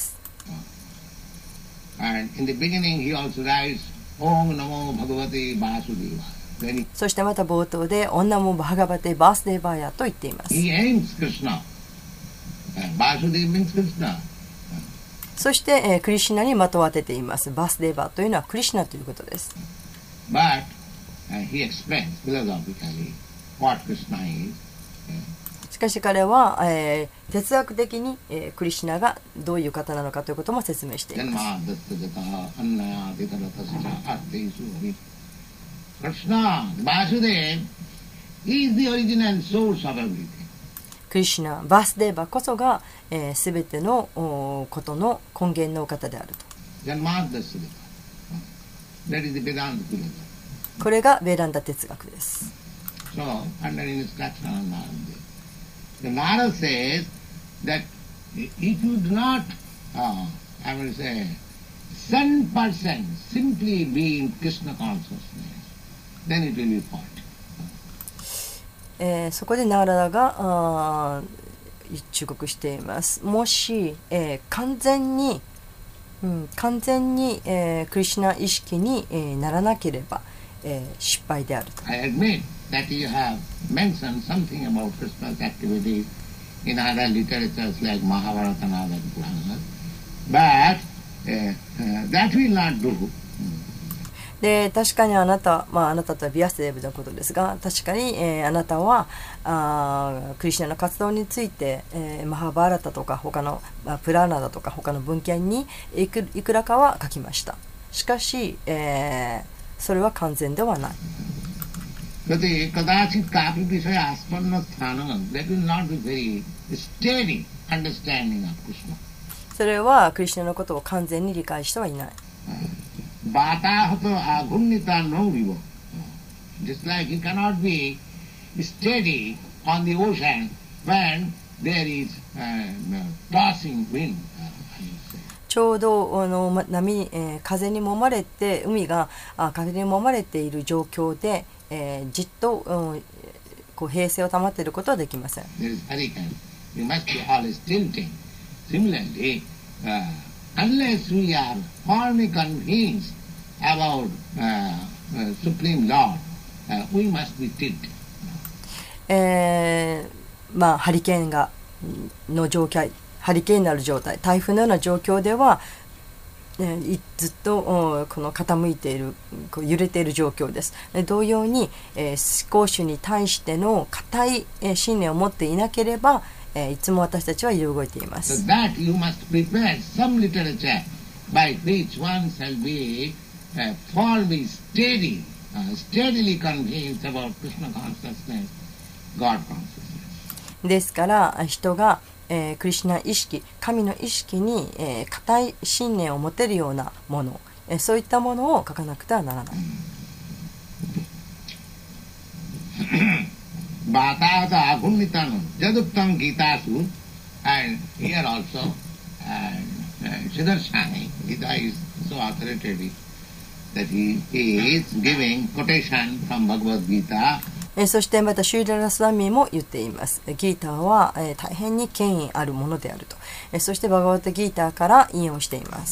And in the beginning he also writes, Om Namo Bhagavate Vasudeva. そしてまた冒頭でオンナモバーガバテバースデーバーヤと言っています。 He aims Krishna. Vasudeva means Krishna. そして、クリシュナに的を当てています。バースデーバーというのはクリシュナということです。 But he explains philosophically what Krishna is. しかし彼は、哲学的に、クリシュナがどういう方なのかということも説明しています。 Krishna, Vasudeva, is the original source of everything. クリシュナ、バースデーバこそがすべてのことの根源のお方であると。これがベーランダ哲学です。 So, under instruction of Narada, the Narada says that if you do not, I will say, 100% simply be in Krishna consciousness, then it will be fault. そこでナーラダが忠告しています。もし、完全に、クリシュナ意識に、ならなければ、 失敗であると。 I admit that you have mentioned something about Krishna's activities in other literatures like Mahabharata and other Puranas, but that will not do. で確かにあなた、あなたとはビアスデーブのことですが、確かに、あなたはクリシュナの活動について、マハバーラタとか他の、プラーナだとか他の文献にいくらかは書きました。しかし、それは完全ではない。それはクリシュナのことを完全に理解してはいない。 Batahato agunnita no vivo. Just like you cannot be steady on the ocean when there is tossing wind. ちょうど風に揉まれて風に揉まれている状況で、じっと、こう平静を保っていることはできません。 There is hurricane. You must be always tilting. Similarly, unless we are firmly convinced about Supreme Lord, we must be tilted. ハリケーンの状態、ハリケーンになる状態、台風のような状況では、ずっとこの傾いている、こう揺れている状況です。同様に、思考主に対しての固い信念を持っていなければ、いつも私たちは揺れ動いています。 So that you must prepare some literature by which one shall be firmly steady, steadily convinced about Krishna consciousness, God consciousness. ですから人が、クリシュナ意識、神の意識に固い信念を持てるようなもの、そういったものを書かなくてはならない。 Bhatata agunnitanam jaduktam gitasu, and here also Siddharthani, Gita is so authoritative that he is giving quotation from Bhagavad Gita. そしてまたシューラ・ラスワミーも言っています。ギーターは大変に権威あるものであると。そしてバガバッタギーターから引用しています。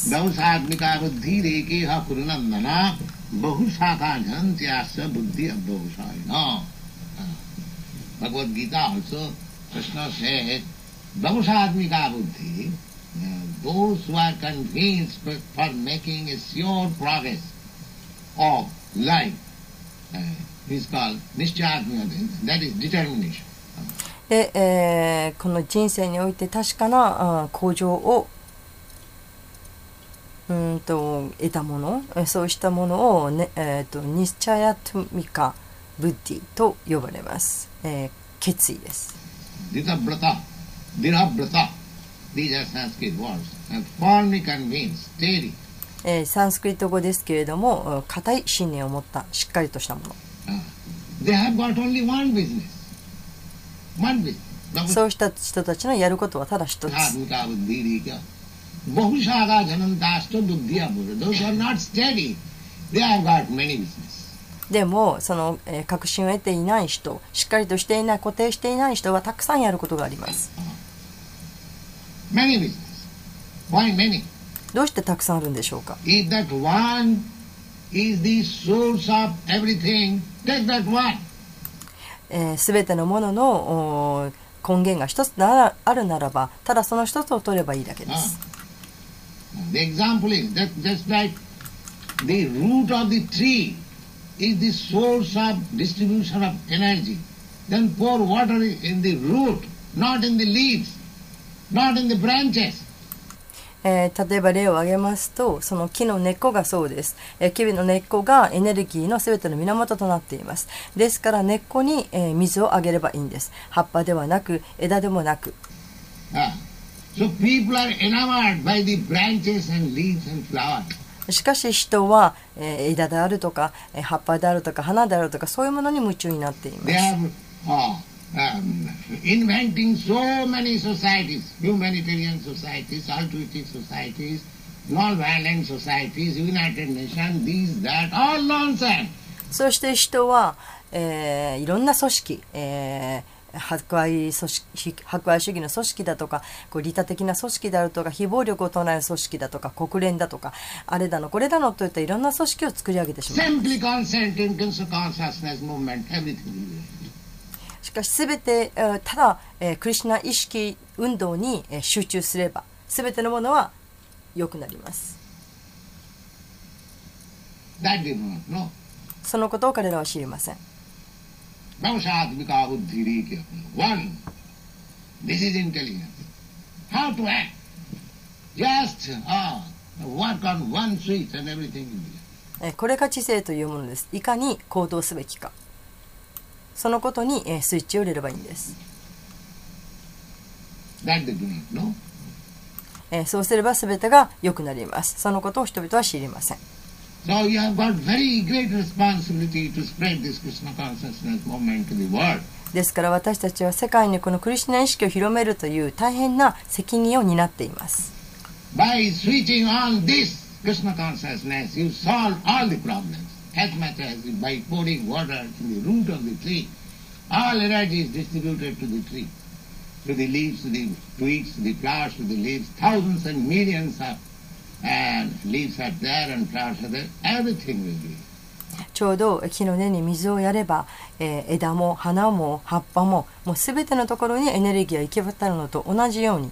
Bhagavad Gita also, Krishna said, Bhavusadmika buddhi, those who are convinced for making a sure progress of life, is called Nishchadmika, that is determination. で、この人生において確かな向上を得たもの、そうしたものを、ニスチャヤトミカブッディと呼ばれます。決意です。 Dhirabrata, these are Sanskrit words, and firmly convinced, steady. サンスクリット語ですけれども、固い信念を持ったしっかりとしたもの。 They have got only one business. One business. そうした人たちのやることはただ一つ。 Those who are not steady, they have got many business. でもその、確信を得ていない人、しっかりとしていない、固定していない人はたくさんやることがあります。 Many business. Why many? どうしてたくさんあるんでしょうか。 If that one is the source of everything, take that one. すべてのものの根源が一つあるならば、ただその一つを取ればいいだけです。 The example is that just like the root of the tree is the source of distribution of energy, then pour water in the root, not in the leaves, not in the branches. 例えば例を挙げますと、その木の根っこがそうです。木の根っこがエネルギーのすべての源となっています。ですから根っこに、水をあげればいいんです。葉っぱではなく、枝でもなく。 So people are enamored by the branches and leaves and flowers. しかし人は、枝であるとか、葉っぱであるとか、花であるとか、そういうものに夢中になっています。 Inventing so many societies, humanitarian societies, altruistic societies, non-violent societies, United Nations, these, that, all nonsense. そして人は、いろんな組織、 博愛主義の組織だとか、利他的な組織であるとか、非暴力を唱える組織だとか、国連だとか、あれだのこれだのといったいろんな組織を作り上げてしまう。しかしすべてただクリシュナ意識運動に集中すれば、すべてのものは良くなります。そのことを彼らは知りません。これが知性というものです。いかに行動すべきか、そのことにスイッチを入れればいいんです。そうすれば全てが良くなります。そのことを人々は知りません。 So you have got very great responsibility to spread this Krishna consciousness movement to the world. ですから私たちは世界にこのクリシュナ意識を広めるという大変な責任を担っています。 By switching on this Krishna consciousness, you solve all the problems. As much as by pouring water to the root of the tree, all energy is distributed to the tree, to the leaves, to the twigs, to the flowers, to the leaves. Thousands and millions of leaves are there and flowers are there. Everything will be. ちょうど木の根に水をやれば、枝も花も葉っぱももうすべてのところにエネルギーが行き渡るのと同じように、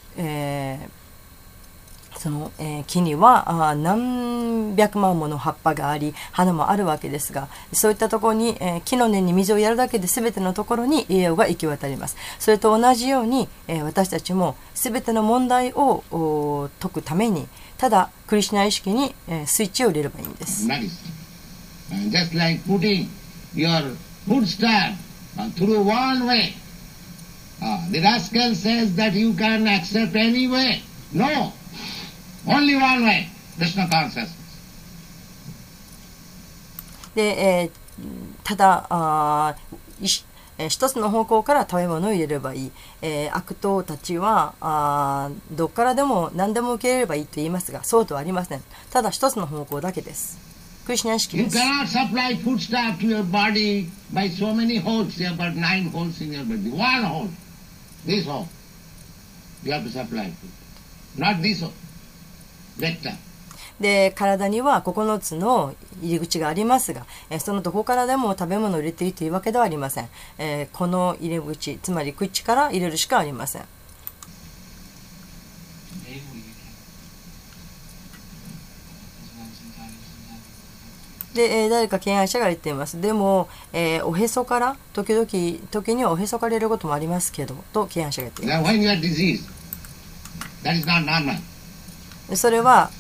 その、木には何百万もの葉っぱがあり花もあるわけですが、そういったところに、木の根に水をやるだけで全てのところに栄養が行き渡ります。それと同じように、私たちも全ての問題を解くためにただクリシュナ意識に、スイッチを入れればいいんです。 Just like putting your food stamp through one way. The rascal says that you can accept any way. No. Only one way. Krishna consciousness. で、ただ一つの方向から食べ物を入れればいい。悪党たちはどっからでも何でも受け入れればいいと言いますが、そうとはありません。ただ一つの方向だけです。クリシュナ意識です。 You cannot supply foodstuff to your body by so many holes. You have got 9 holes in your body. One hole. This hole. You have to supply food. Not this hole. Rectum. で、体には9つの入り口がありますが、そのどこからでも食べ物を入れていいというわけではありません。この入り口、つまり口から入れるしかありません。で、誰か敬愛者が言っています。でも、おへそから時にはおへそから入れることもありますけどと敬愛者が言っています。 When you are diseased, that is not normal. それは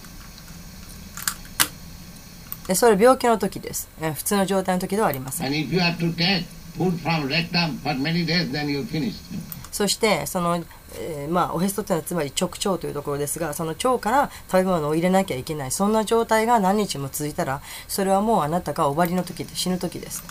病気の時です。普通の状態の時ではありません。 And if you have to take food from rectum for many days, then you finish. そしてそのおへそというのはつまり直腸というところですが、その腸から食べ物を入れなきゃいけない、そんな状態が何日も続いたら、それはもうあなたが終わりの時で死ぬ時です。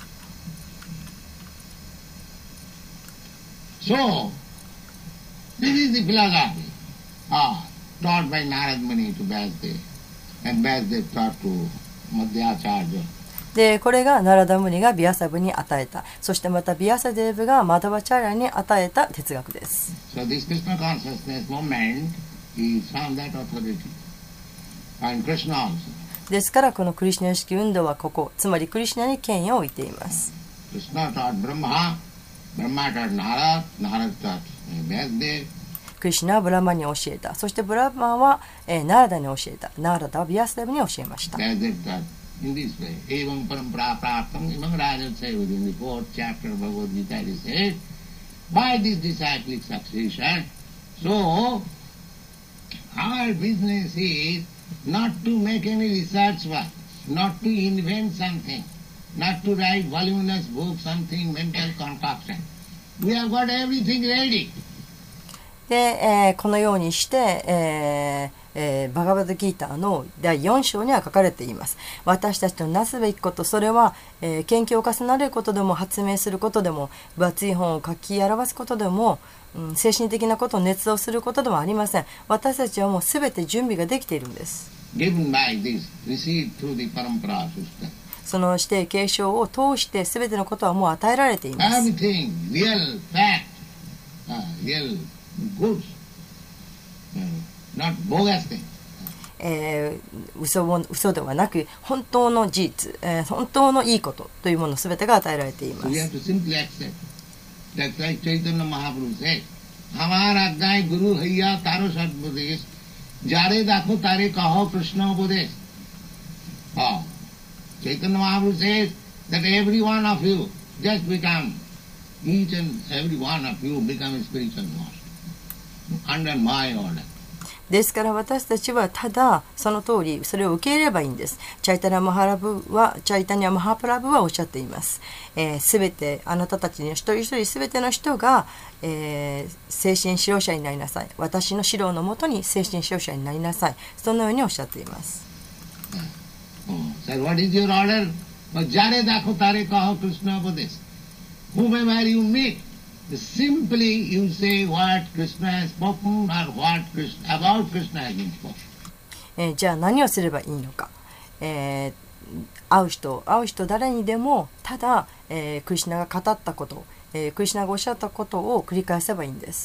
So, this is the philosophy taught by Narad Muni to Vyasdev, and Vyasdev taught to Madhyacharya. で、これがナラダムニがビアサブに与えた、そしてまたビアサデーブがマダバチャーリャに与えた哲学です。 So this Krishna consciousness movement is from that authority, and Krishna also. ですからこのクリシュナ意識運動はここ、つまりクリシュナに権威を置いています。 Krishna taught Brahma, Brahma taught Narad, Narad taught Vyasdev. クリシュナはブラマに教えた、そしてブラマは、ナラダに教えた、ナラダはビアサデーブに教えました。 In this way, evam parampara praptam imam rajasya within the 4th chapter of Bhagavad Gita it is said, by this disciplic succession, so our business is not to make any research work, not to invent something, not to write voluminous books, something mental concoction. We have got everything ready. で、このようにして、バガバドギーターの第4章には書かれています。私たちのなすべきこと、それは、研究を重ねることでも発明することでも分厚い本を書き表すことでも、精神的なことを捏造することでもありません。私たちはもうすべて準備ができているんです。 その指定継承を通して全てのことはもう与えられています。 Everything, real fact, real goods, not bogus thing. 嘘ではなく本当の事実、本当のいいことというもの全てが与えられていま We す。 have to simply accept. That's like Chaitanya Mahaprabhu said, Hamar Ajnai Guru Haiya Taro Sadbudesh, Jare Dakho Tare Kaho Krishna Budesh. Chaitanya Mahaprabhu says that every one of you just become, each and every one of you become a spiritual master under my order. ですから私たちはただその通りそれを受け入れればいいんです。チャイタニャ・マハプラブはおっしゃっています。すべてあなたたちの一人一人すべての人が、精神指導者になりなさい。私の指導のもとに精神指導者になりなさい。そのようにおっしゃっています。 So what is your order? Jare dakho tare kaho Krishna Buddhist. Whomever you meet, simply you say what Krishna has spoken or what about Krishna has been spoken. じゃあ何をすればいいのか。会う人誰にでもただ、クリシュナが語ったこと、クリシュナがおっしゃったことを繰り返せばいいんです。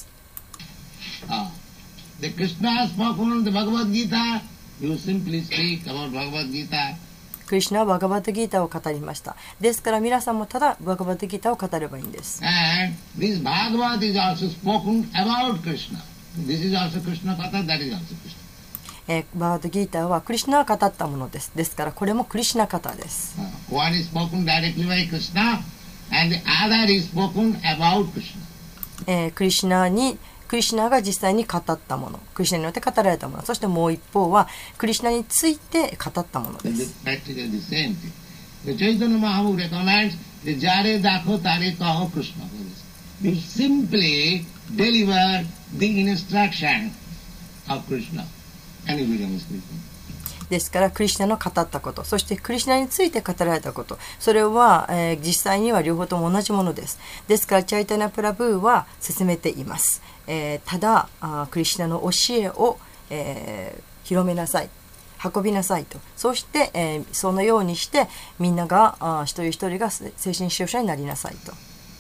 The Krishna has spoken the Bhagavad Gita. You simply speak about Bhagavad Gita. クリシュナはバガバットギーターを語りました。ですから皆さんもただバガバットギーターを語ればいいんです。 And this Bhagavad is also spoken about Krishna. This is also Krishna Katha, that is also Krishna. バガバットギーターはクリシュナが語ったものです。ですからこれもクリシュナカタです。 One is spoken directly by Krishna and the other is spoken about Krishna. クリシュナが実際に語ったもの、クリシュナによって語られたもの、そしてもう一方はクリシュナについて語ったものです。 Practically the same thing. The Chaitanya Mahaprabhu recommends the Jare Dakho Tare Kaho Krishna. You simply deliver the instruction of Krishna and you become a spiritual. ですからクリシュナの語ったこと、そしてクリシュナについて語られたこと、それは、実際には両方とも同じものです。ですからチャイタニャプラブーは進めています。ただクリシュナの教えを、広めなさい、運びなさいと。そして、そのようにしてみんなが一人一人が精神指導者になりなさいと。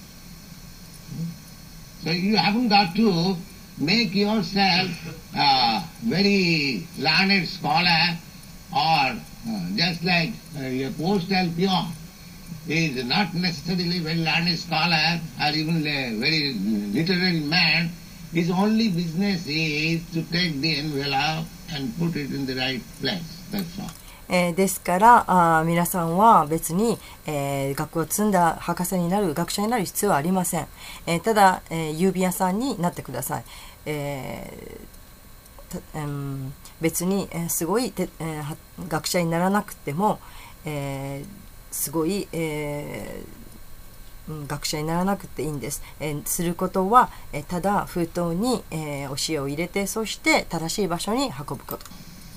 So you haven't got to make yourself a very learned scholar or just like a postal peon. He is not necessarily a very learned scholar or even a very literary man. His only business is to take the envelope and put it in the right place. That's all. ですから皆さんは別に、学校を積んだ博士になる学者になる必要はありません。ただ、郵便屋さんになってください。別に、すごい学者にならなくても、すごい、学者にならなくていいんです。することは、ただ封筒に、教えを入れて、そして正しい場所に運ぶこと。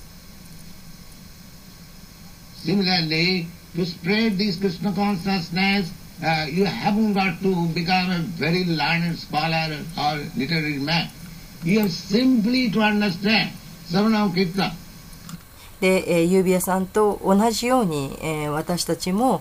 Similarly, to spread this Krishna consciousness, you haven't got to become a very learned scholar or literary man. You have simply to understand Savanam Kirtan. で、郵便屋さんと同じように、私たちも、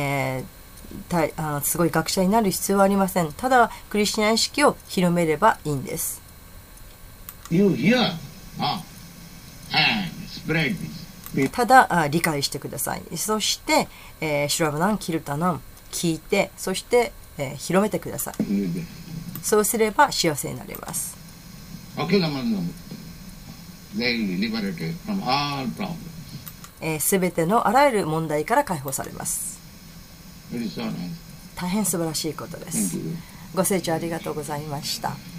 すごい学者になる必要はありません。ただクリシュナ意識を広めればいいんです。 You hear, and spread this. ただ理解してください。そして、シュラバナン、キルタナン聞いて、そして、広めてください。そうすれば幸せになれます。すべてのあらゆる問題から解放されます。大変素晴らしいことです。ご清聴ありがとうございました。